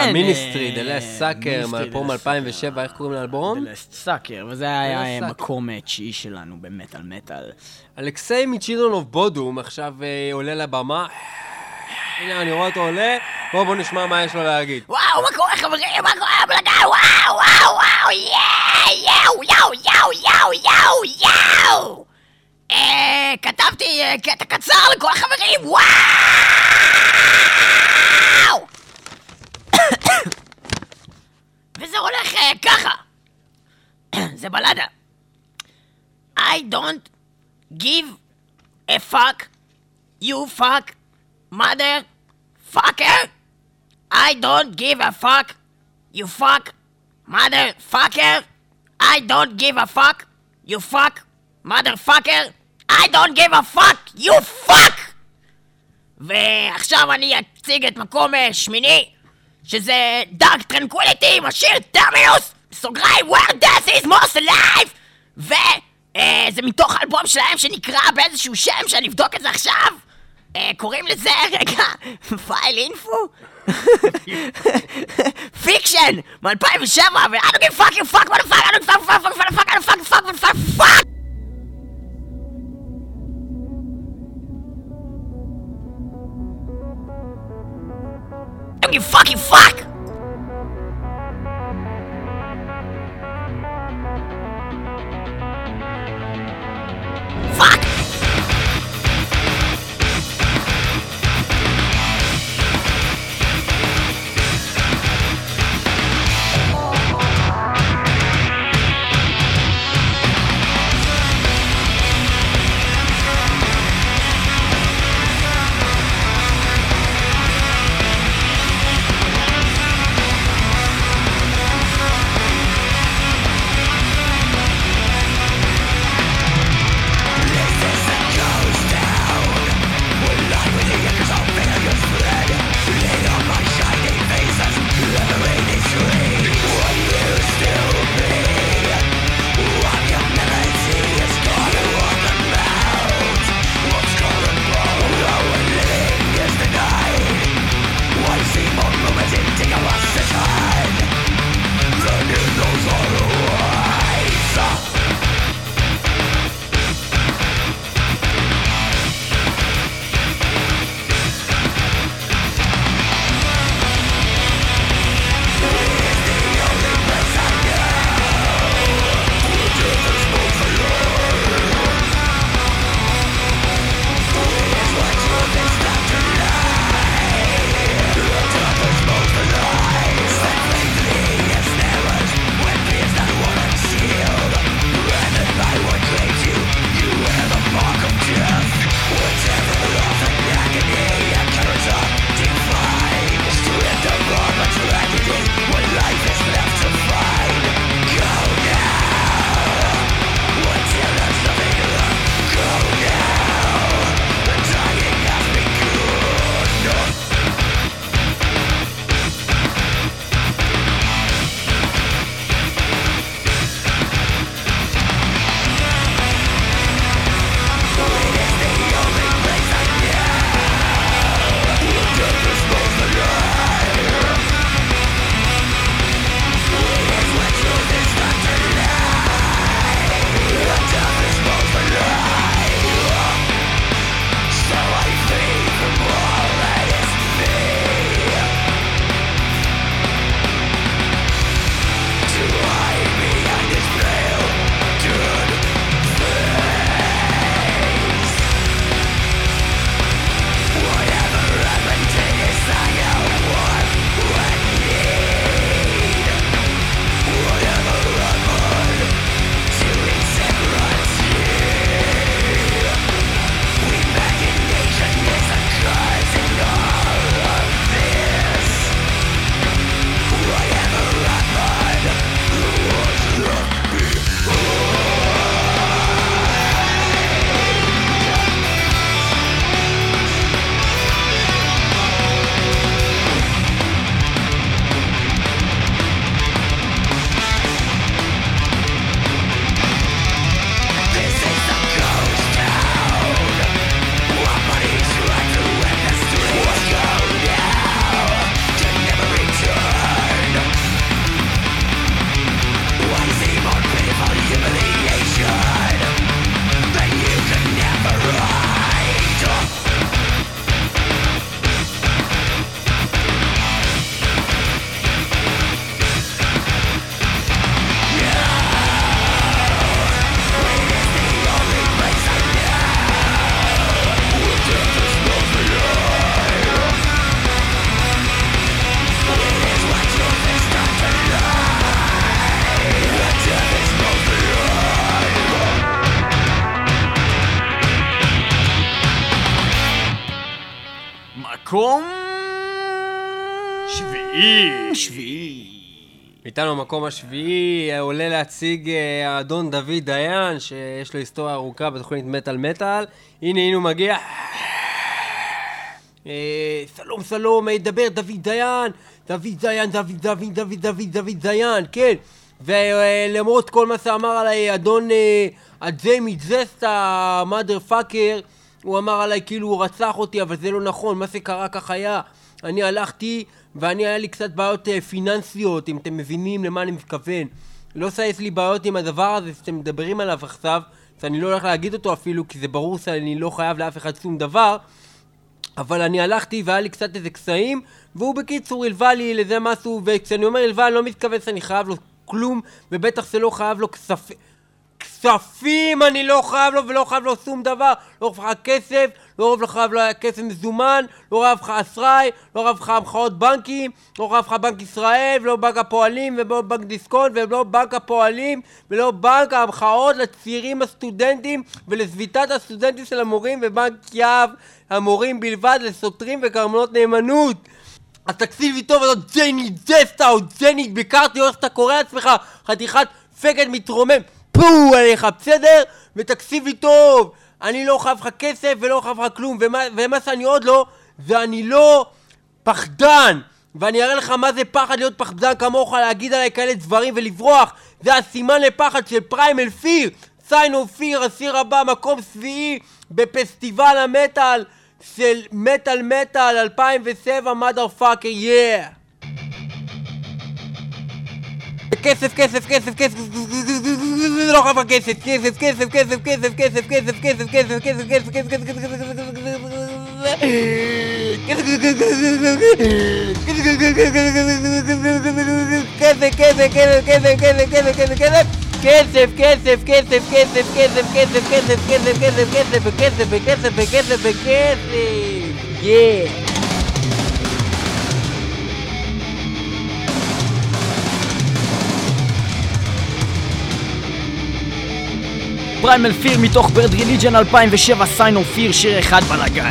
המיניסטרי, The Last Sucker, מאלבום 2007, איך קוראים לאלבום? The Last Sucker, וזה היה מקום 9 שלנו במטל מטל. אלכסיי מצ'ילדרן אוף בודום עכשיו עולה לבמה. הנה, אני רואה אותו עולה, בואו נשמע מה יש לו להגיד. וואו, מה קורה חברים? מה קורה בלגן? וואו, וואו, וואו, יאו, יאו, יאו, יאו, יאו, יאו! כתבתי קטע קצר לכל החברים, וואו! וזה הולך ככה. זה בלדה. I don't give a fuck, you fuck, motherfucker. I don't give a fuck, you fuck, motherfucker. I don't give a fuck, you fuck, motherfucker. I don't give a fuck, you fuck. ועכשיו אני אציג את מקום 8, שזה Dark Tranquility עם השיר טרמינוס, בסוגריים Where Death is Most Alive, וזה מתוך אלבום שלהם שנקרא באיזשהו שם שאני אבדוק את זה עכשיו, קוראים לזה, רגע, פייל אינפו? פיקשן, מ-2007, ו- I don't give a fuck, you fuck, motherfucker, I don't give a fuck, motherfucker, I don't give a fuck, motherfucker, fuck! I don't give a fuck, you fuck! Fuck! מקום... שביעי. איתנו במקום השביעי עולה להציג האדון דוד דיין, שיש לו היסטוריה ארוכה בתוכנית מטל. הנה הוא מגיע. שלום, ידבר דוד דיין, כן. ולמרות כל מה שאמר עליי אדון הג'יימי ג'סט, המאדר פאקר, הוא אמר עליי כאילו הוא רצח אותי, אבל זה לא נכון, מה שקרה כך היה. אני הלכתי היה לי קצת בעיות פיננסיות, אם אתם מבינים למה אני מתכוון. לא שיש לי בעיות עם הדבר הזה שאתם מדברים עליו עכשיו, שאני לא הולך להגיד אותו אפילו, כי זה ברור שאני לא חייב לאף אחד שום דבר. אבל אני הלכתי והיה לי קצת איזה קסעים, והוא בקיצור הלווה לי לזה משהו, וכשאני אומר הלווה אני לא מתכוון שאני חייב לו כלום, ובטח שלא חייב לו כספים אני לא חייב לו, ולא חייב לו שום דבר. לא חייב לך כסף, לא חייב לו כסף מזומן, לא חייב לך אשראי, לא חייב לך המחאות בנקים, לא חייב לך בנק ישראל, ולא בנק הפועלים, ולא בנק דיסקונט, ולא בנק הפועלים, ולא בנק המחאות לצעירים הסטודנטים ולסביטת הסטודנטים של המורים, ובנק יהב המורים בלבד לסותרים וקרמנות נאמנות. אז תקשיב לי טוב, זאת ג'ייני ג'סטה או ג'ייני ביקרתי, או איך אתה קורא לעצמך, חתיכת פקד מתרומם פו עליך, בסדר? ותקשיב לי טוב, אני לא חייב לך כסף ולא חייב לך כלום, ומה שאני עוד לא, ואני לא פחדן, ואני אראה לך מה זה פחד להיות פחדן כמוך, להגיד עליי כאלה דברים ולברוח. זה הסימן לפחד של פריימל פיר, סיין אוף פיר, הסיר הבא, מקום שביעי בפסטיבל המטל של מטל 2007, mother fucker, yeah. כסף, לא חייב כסף, yeah. פריימל פיר מתוך ברד ריליג'ן 2007, סיין אוף פיר, שיר אחד בלגן.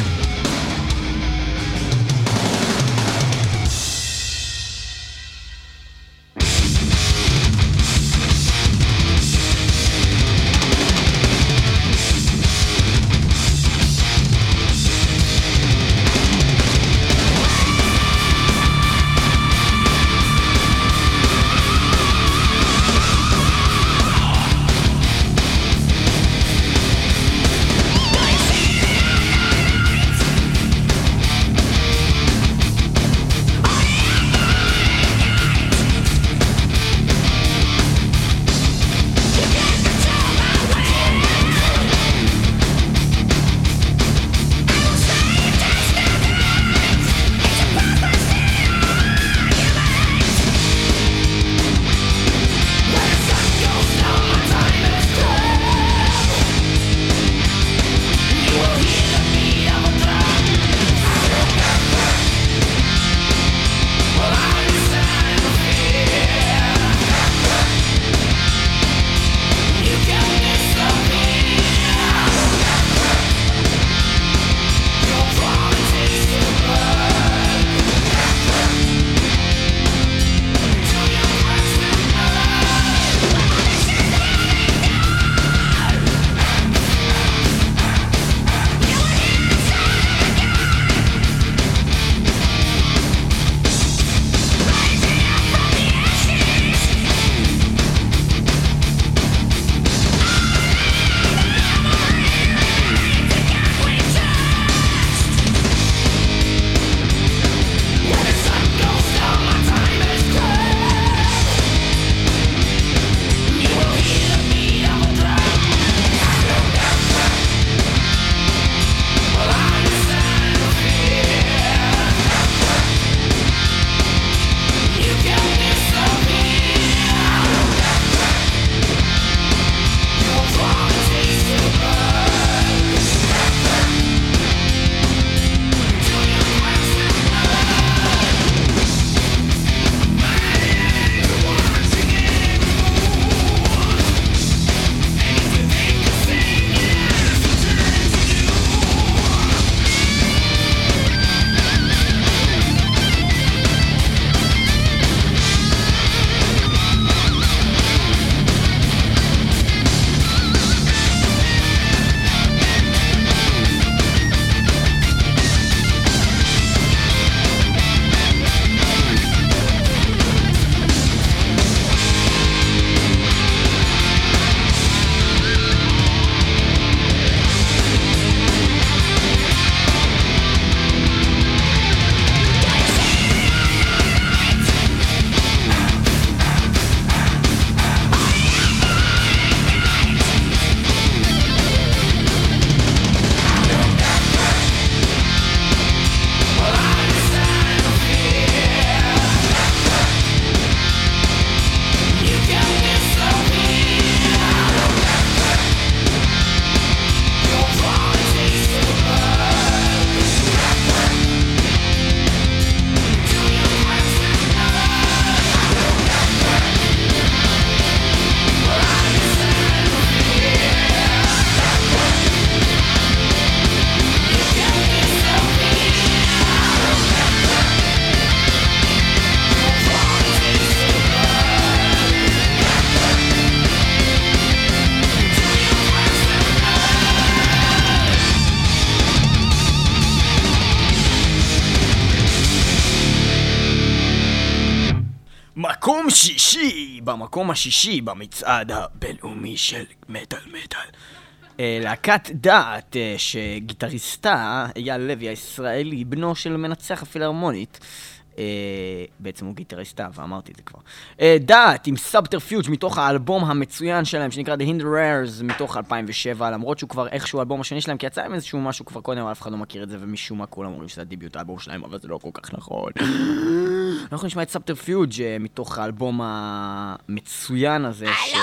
שישי, במקום השישי במצעד הבינלאומי של מטל. להקת דעת, שגיטריסטה, אייל לוי הישראלי, בנו של מנצח הפילהרמונית, בעצם הוא גיטריסטה, ואמרתי את זה כבר. דעת עם סאבטרפיוג' מתוך האלבום המצוין שלהם, שנקרא The Hinder Rares, מתוך 2007, למרות שהוא כבר איכשהו האלבום השני שלהם, כי יצא עם איזשהו משהו כבר קודם, אבל אף אחד לא מכיר את זה, ומשום מה כולם אומרים שזה הדיביוט האלבום שלהם, אבל זה לא כל כך נכון. אנחנו נשמע את סאבטרפיוג' מתוך האלבום המצוין הזה של...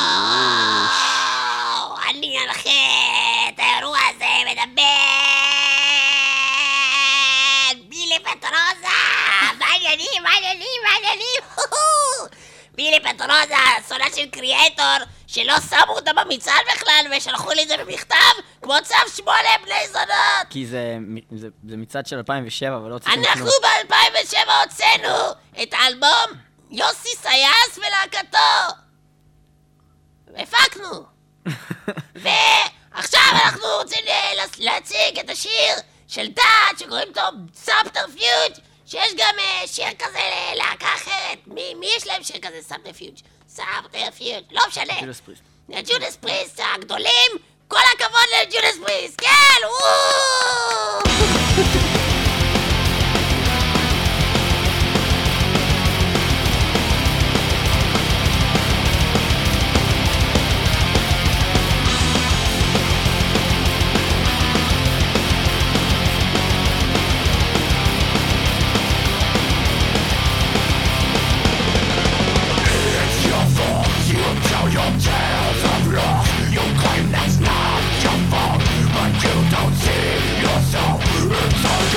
אני הולכת, האירוע הזה מדבר בילי פטרוזה, מה העניינים? בילי פטרוזה, סונה של קריאטור שלא שמו אותה במצעד בכלל ושלחו לי את זה במכתב כמו צו 8 בני זונות. כי זה מצעד של 2007 ולא הוצאנו כלום. אנחנו ב-2007 הוצאנו את האלבום יוסי סייס ולהקתו, הפקנו. ועכשיו אנחנו רוצים להציג את השיר של דעת שקוראים לו סאבטרפיוג', שיש גם שיר כזה ללהקה אחרת. מי יש להם שיר כזה סאבטרפיוג'? לא משנה. ג'ודס פריסט. ג'ודס פריסט הגדולים, כל הכבוד לג'ודס פריסט, כן! It's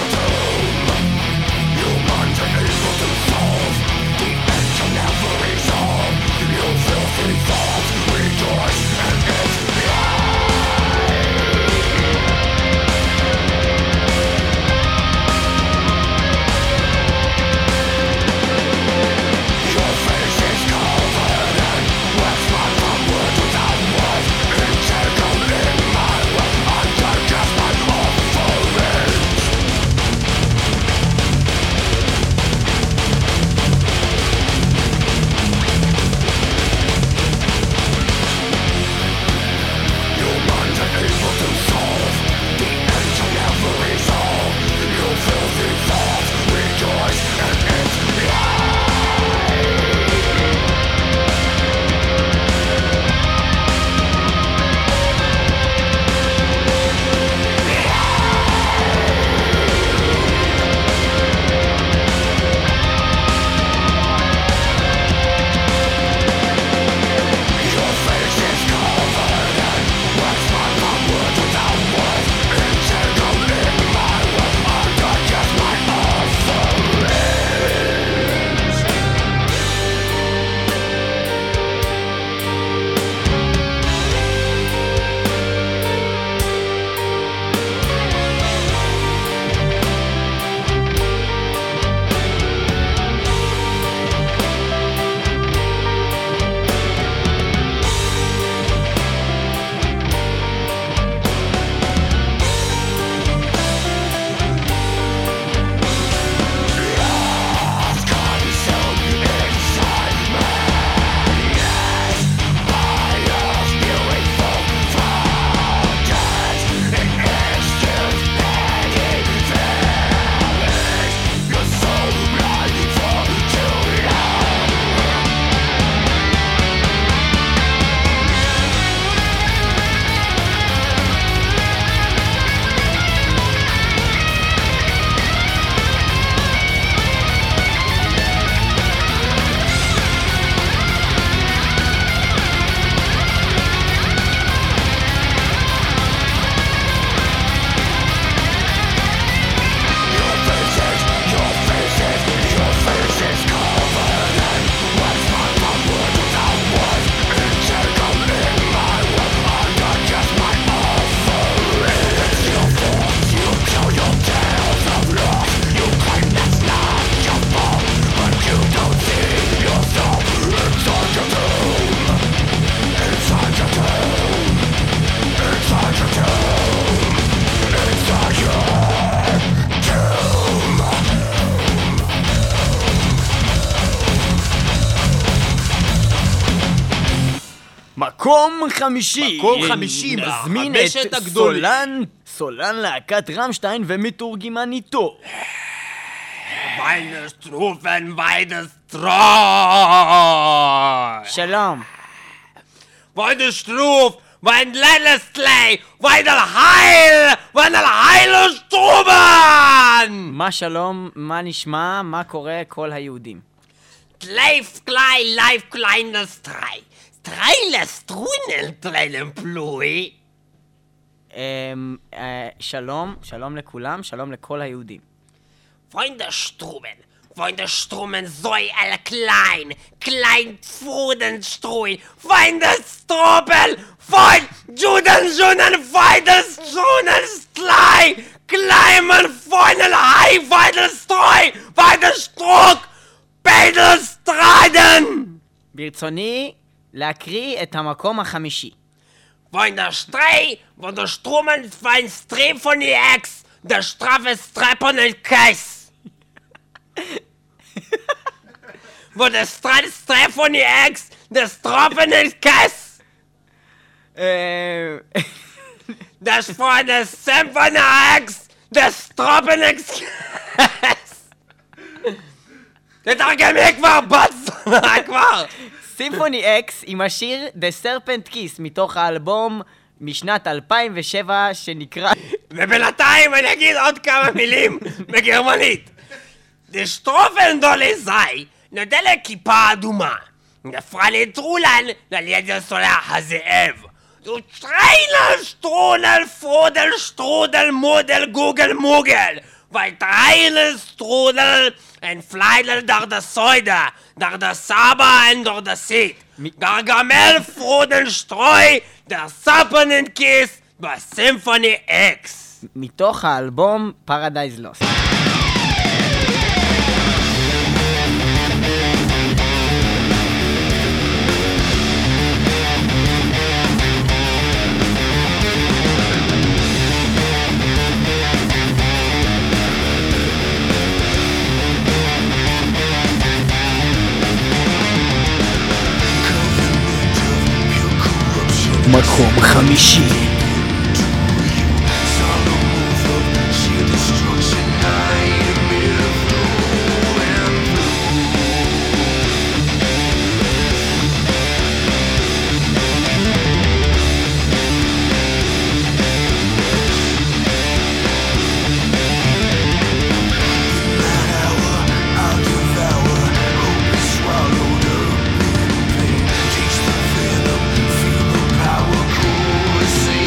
מקום חמישי. מקום חמישי, נזמין מהחמשת את הגדולים. סולן להקת רמשטיין ומתורגמניתו. ויינשטרופן ויידסטרוי. שלום. ויינשטרוף ויינללסטלי ויינלהיילשטרובן. מה שלום, מה נשמע, מה קורה כל היהודים? טלייף קליי לייף קליינלסטרי סטריילסטרונל טריילמפלוי. שלום לכולם, שלום לכל היהודים. Freunde Zoe alle klein Pfudenstruin, Feinde Stropel, Fein Juden, Feinde Strunenstrei, Kleimen Feindel Hai, Feinde Streu, Feinde Struck, Beidel Streiten. ברצוני להקריא את המקום החמישי. Feinde Strei, von der Strumen, Fein Strep von die Ex, der Strafe Streppon und Keiß. Wo der Streit von die Ex, der Stroppen ist Kess. Das von der Sam von der Ex, der Stroppen ist Kess. תתרגמי כבר, בת זונה כבר. סימפוני אקס עם השיר The Serpent Kiss מתוך האלבום משנת 2007 שנקרא... ובינתיים אני אגיד עוד כמה מילים בגרמנית. Die Strophenolle sei נודה לכיפה אדומה. נפרה לטרולן לליד הסולח הזאב. Du Trainer, Strudel, Frudel, Strudel, Mudel, Google, Mugel. Weil Trainer, Strudel, ein Fleidel durch das Säude, durch das Saba und durch das Seed. Gargamel, Frudel, Streu, der Sappenenkiss, בסימפוני אקס. מתוך האלבום Paradise Lost. מקום חמישי. See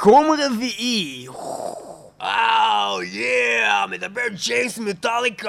מקום רביעי. מדבר ג'יימס מטאליקה,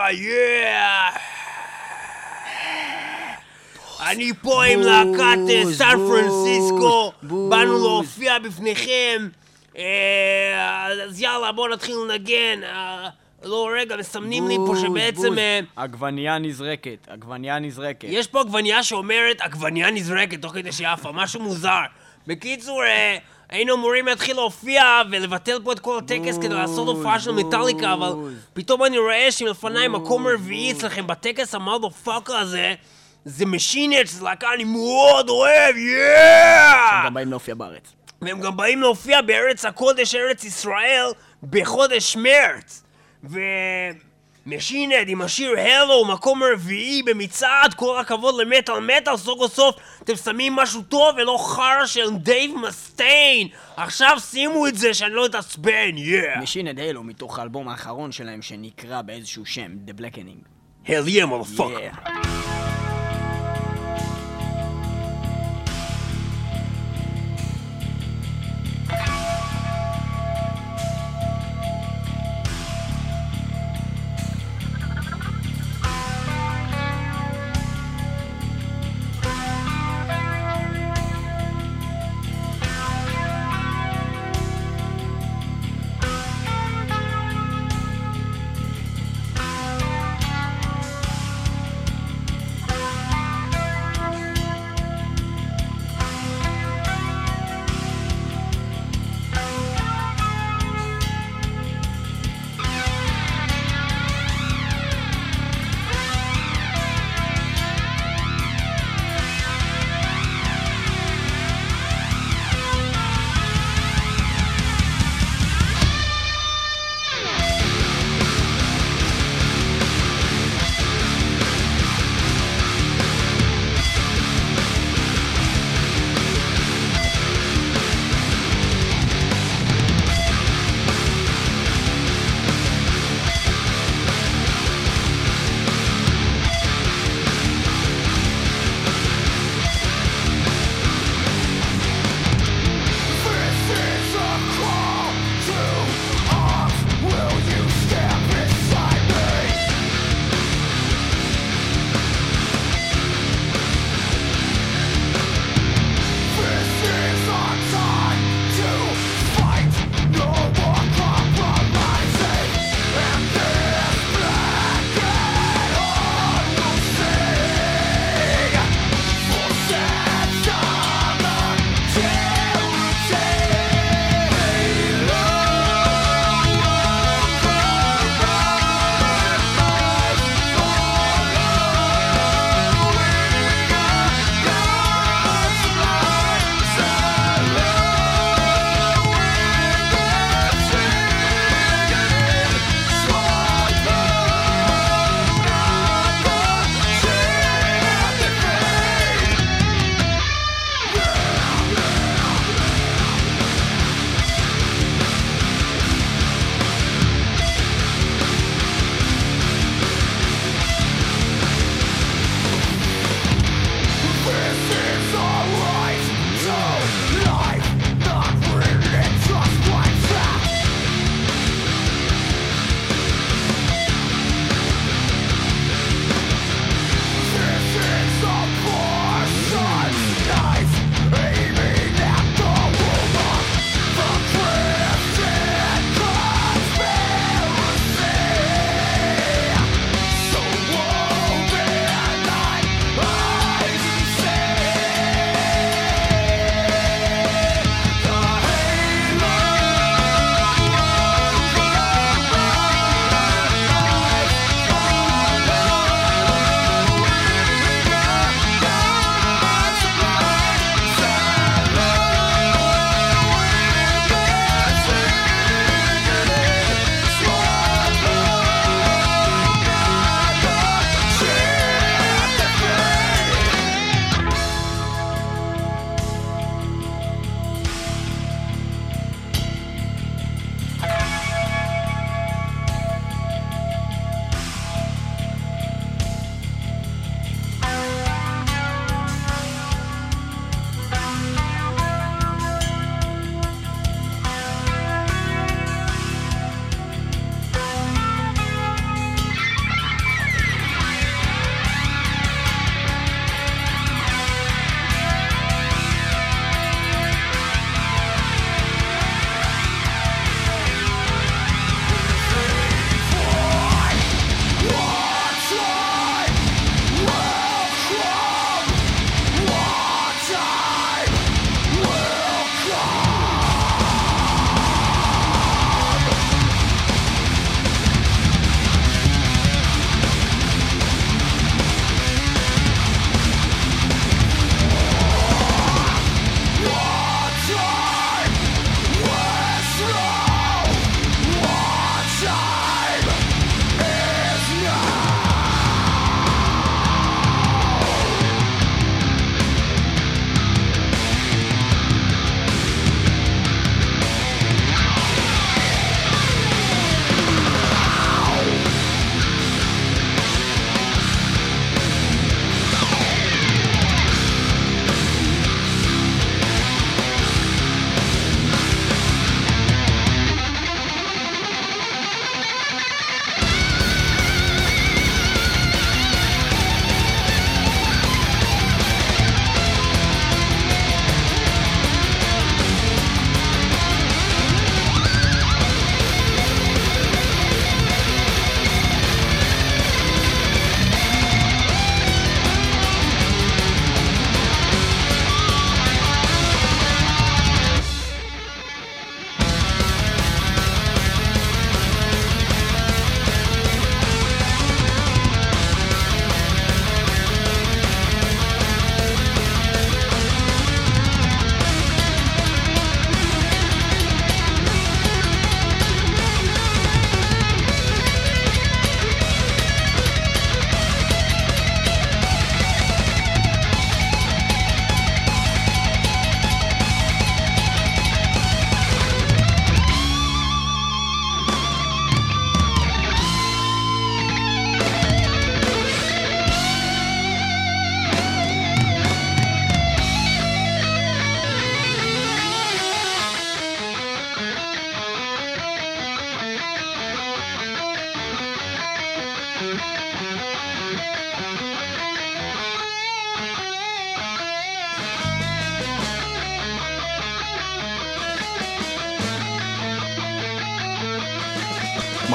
אני פה עם להקת סן פרנסיסקו, באנו להופיע בפניכם, אז יאללה בואו נתחיל לנגן. לא רגע, מסמנים לי פה שבעצם... עגבנייה נזרקת. יש פה עגבנייה שאומרת עגבנייה נזרקת תוך כדי שיפה, משהו מוזר. בקיצור, היינו אמורים להתחיל להופיע ולבטל פה את כל הטקס כדי לעשות הופעה של מטאליקה, אבל פתאום אני רואה שמלפניי מקום רביעי אצלכם בטקס המאדרפאקר הזה זה משינט, שזה להקה אני מאוד אוהב, הם גם באים להופיע בארץ. והם גם באים להופיע בארץ הקודש, ארץ ישראל, בחודש מרץ. ומשינט עם השיר הלו, מקום רביעי במצעד, כל הכבוד למטל, סוף סוף אתם שמים משהו טוב ולא חרא של דייב מסטיין. עכשיו שימו את זה שאני לא אתעצבן, משינט הלו מתוך האלבום האחרון שלהם שנקרא באיזשהו שם, The Blackening. Hell yeah, motherfucker.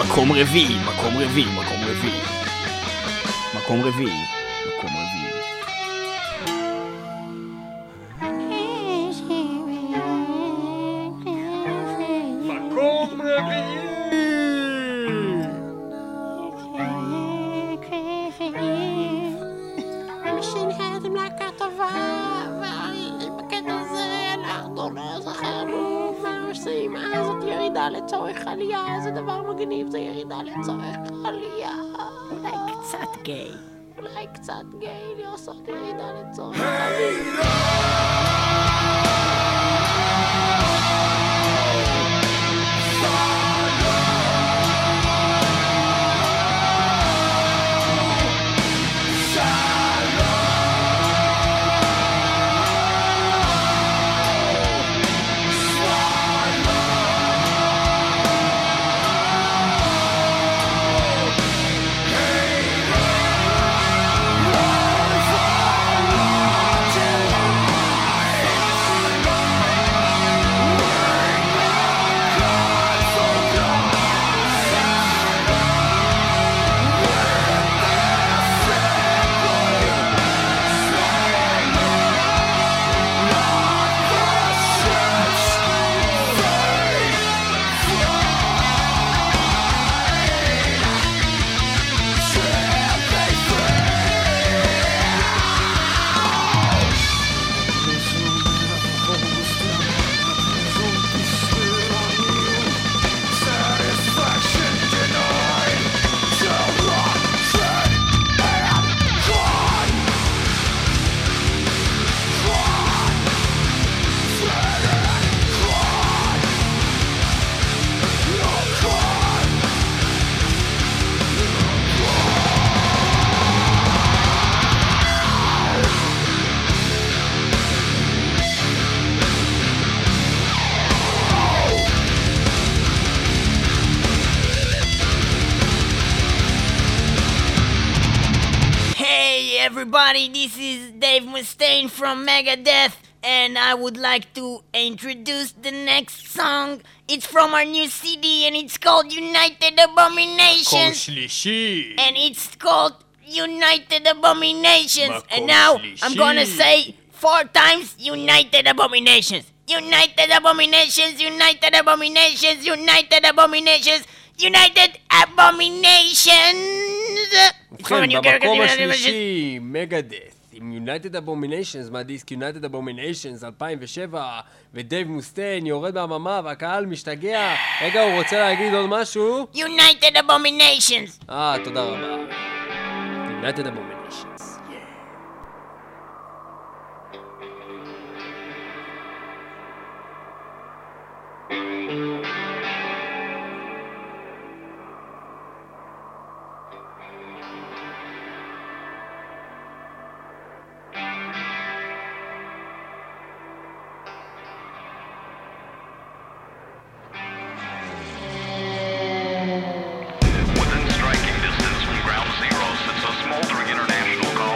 מקום רביעי, מקום רביעי, מקום רביעי. מקום רביעי, מקום רביעי. מקום רביעי! שנהייתם להקה טובה, ובקטע הזה אנחנו לא זכרנו מה עושים. זאת ירידה לצורך עלייה, זה דבר מגניב, זה ירידה לצורך עלייה. אולי קצת גיי. אולי קצת גיי לעשות ירידה לצורך עלייה. Everybody, this is Dave Mustaine from Megadeth, and I would like to introduce the next song. It's from our new CD, and it's called United Abominations. And it's called United Abominations. And now I'm gonna say 4 times United Abominations. United Abominations, United Abominations, United Abominations, United Abominations. ובכן, במקום השלישי, מגדס, עם United Abominations מהדיסק United Abominations 2007, ודייב מוסטיין יורד מהממה והקהל משתגע. רגע, הוא רוצה להגיד עוד משהו? United Abominations. תודה רבה. United Abominations. Within striking distance from Ground Zero sits a smoldering international colony.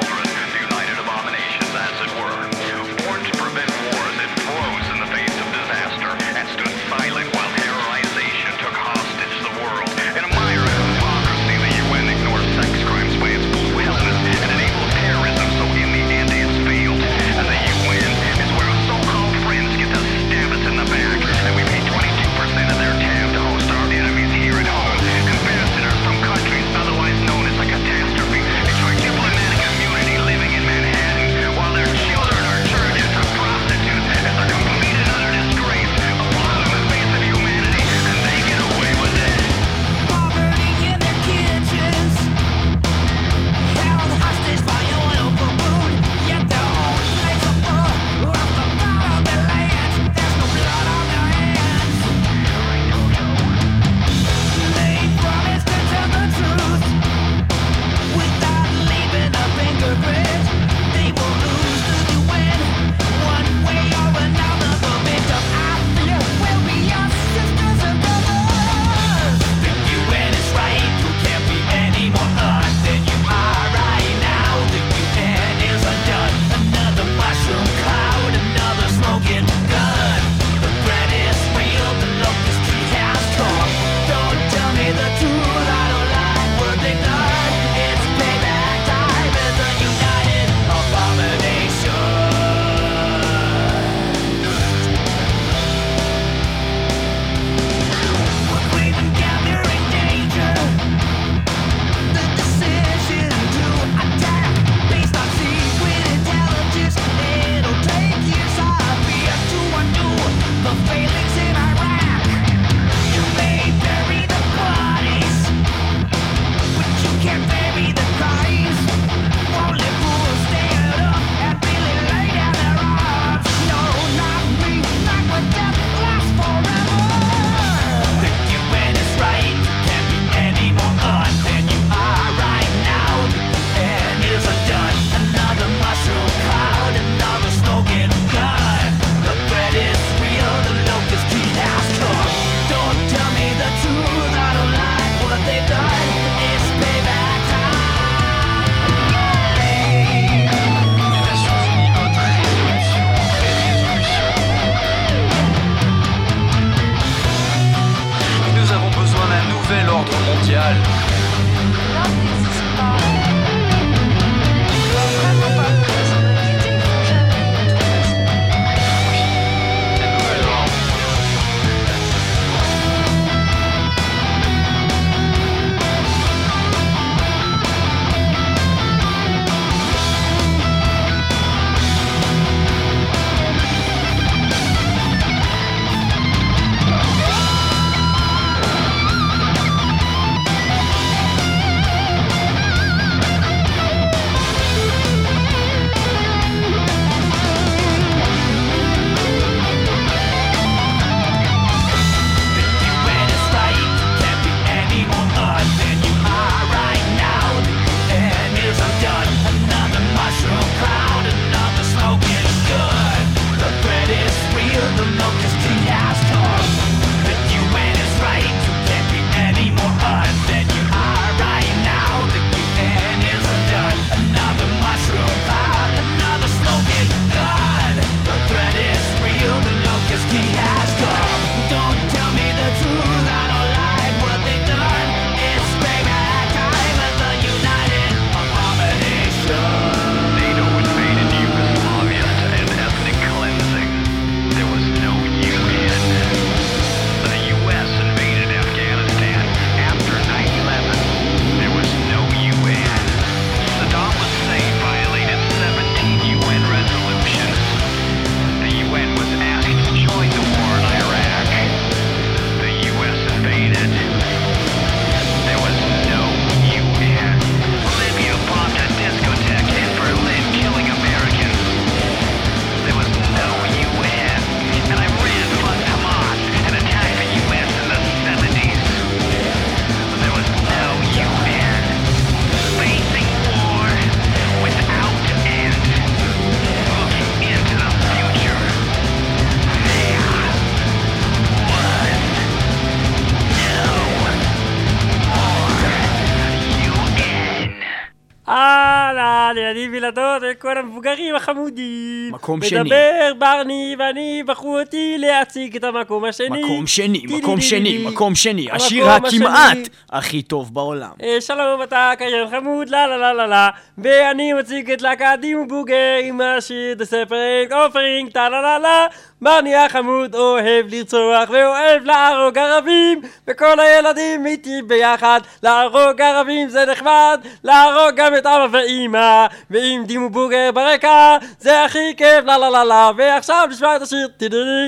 לילדים וילדות וכל המבוגרים החמודים. מקום שני. מדבר ברני ואני בחרו אותי להציג את המקום השני. מקום שני. השיר הכמעט הכי טוב בעולם. שלום, אתה קריין חמוד, לה לה לה לה לה. ואני מציג את להקת דימו בוגר עם השיר The Separate Offering, טה לה לה לה. ברני החמוד אוהב לרצוח ואוהב להרוג ערבים, וכל הילדים איתי ביחד. להרוג ערבים זה נחמד, להרוג גם את אבא ואמא, ועם דימו בוגר ברקע זה הכי כיף, לה לה לה לה. ועכשיו נשמע את השיר תדרי.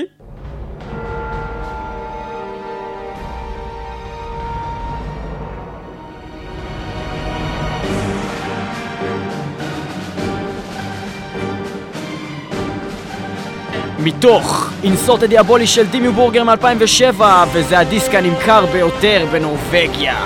מתוך אינסורט הדיאבולי של דימו בורגר מ-2007, וזה הדיסק הנמכר ביותר בנורווגיה.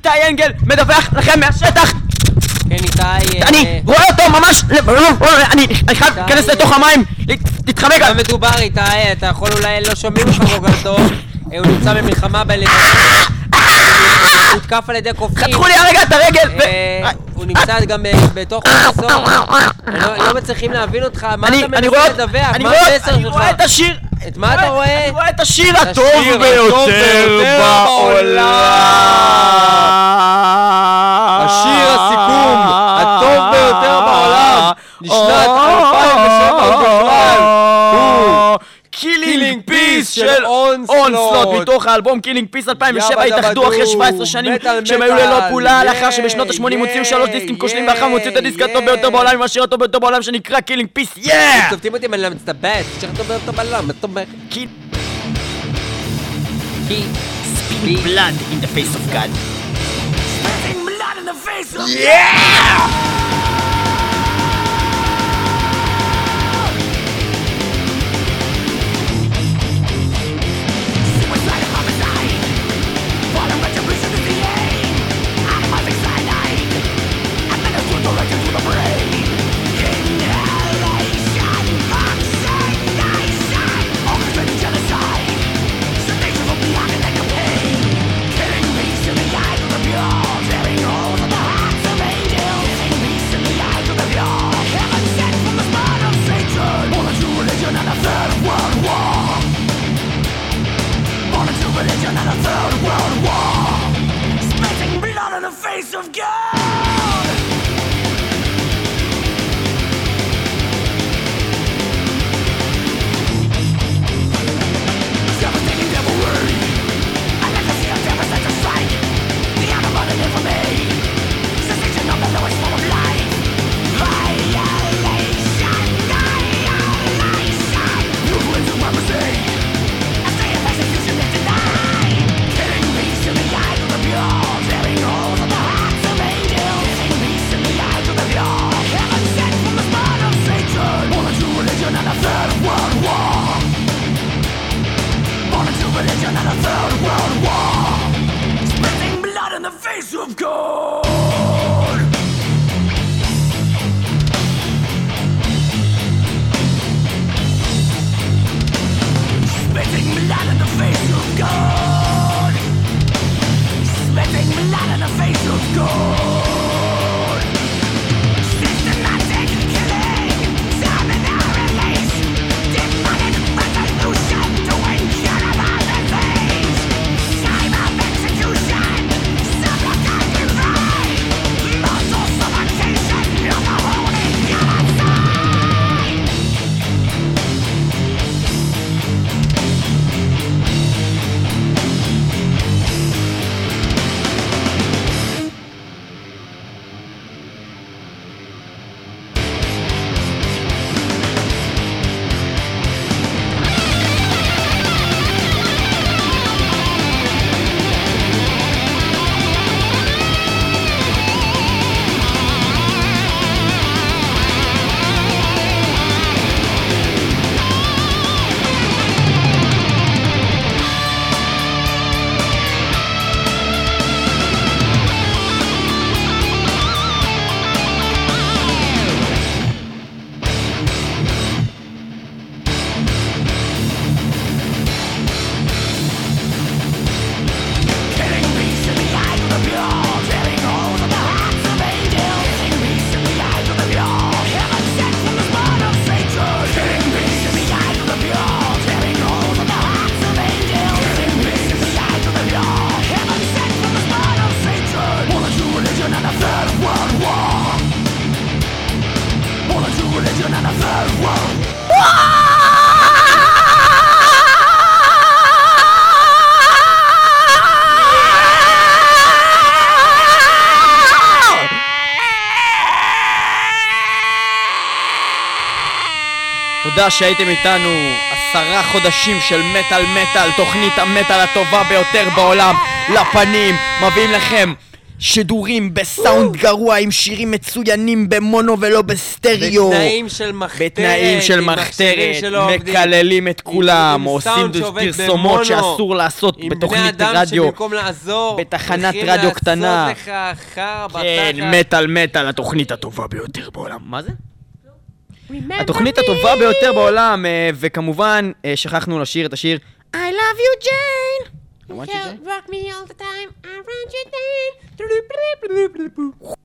איתי אנגל מדווח לכם מהשטח. כן, איתי... אני רואה אותו ממש... אני חייב להיכנס לתוך המים, להתחמק. מה מדובר איתי? אתה יכול אולי לא שומעים לך כל כך טוב. הוא נמצא במלחמה בלבנון. הוא הותקף על ידי קופים. חתכו לי הרגע את הרגל. הוא נמצא גם בתוך חסון. לא מצליחים להבין אותך. מה אתה מנסה לדווח? מה המסר שלך? אני רואה את השיר. את מה אתה רואה? אני רואה את השיר הטוב ביותר בעולם. השיר הסיכום הטוב ביותר בעולם לשנת 2007 ובכלל הוא קילינג פיס של אונסלוט מתוך האלבום קילינג פיס 2007. התאחדו אחרי 17 שנים שהם היו ללא פעולה לאחר שבשנות ה-80 הוציאו 3 דיסקים כושלים ואחר הוציאו את הדיסק הטוב ביותר בעולם עם השיר הטוב ביותר בעולם שנקרא קילינג פיס. צופתים אותי מלא מצטבט שיר הטוב ביותר בעולם. אתה אומר Spilling blood in the face of God. Spilling blood in the face of God. Yeah! תודה שהייתם איתנו 10 חודשים של מטל, תוכנית המטל הטובה ביותר בעולם לפנים. מביאים לכם שידורים בסאונד גרוע עם שירים מצוינים במונו ולא בסטריאו. בתנאים של מחתרת. מקללים את כולם, עושים פרסומות שאסור לעשות בתוכנית רדיו, בתחנת רדיו קטנה. כן, מטל, התוכנית הטובה ביותר בעולם. מה זה? התוכנית הטובה ביותר בעולם, וכמובן שכחנו לשיר את השיר I love you Jane. You rock me all the time, I run you down.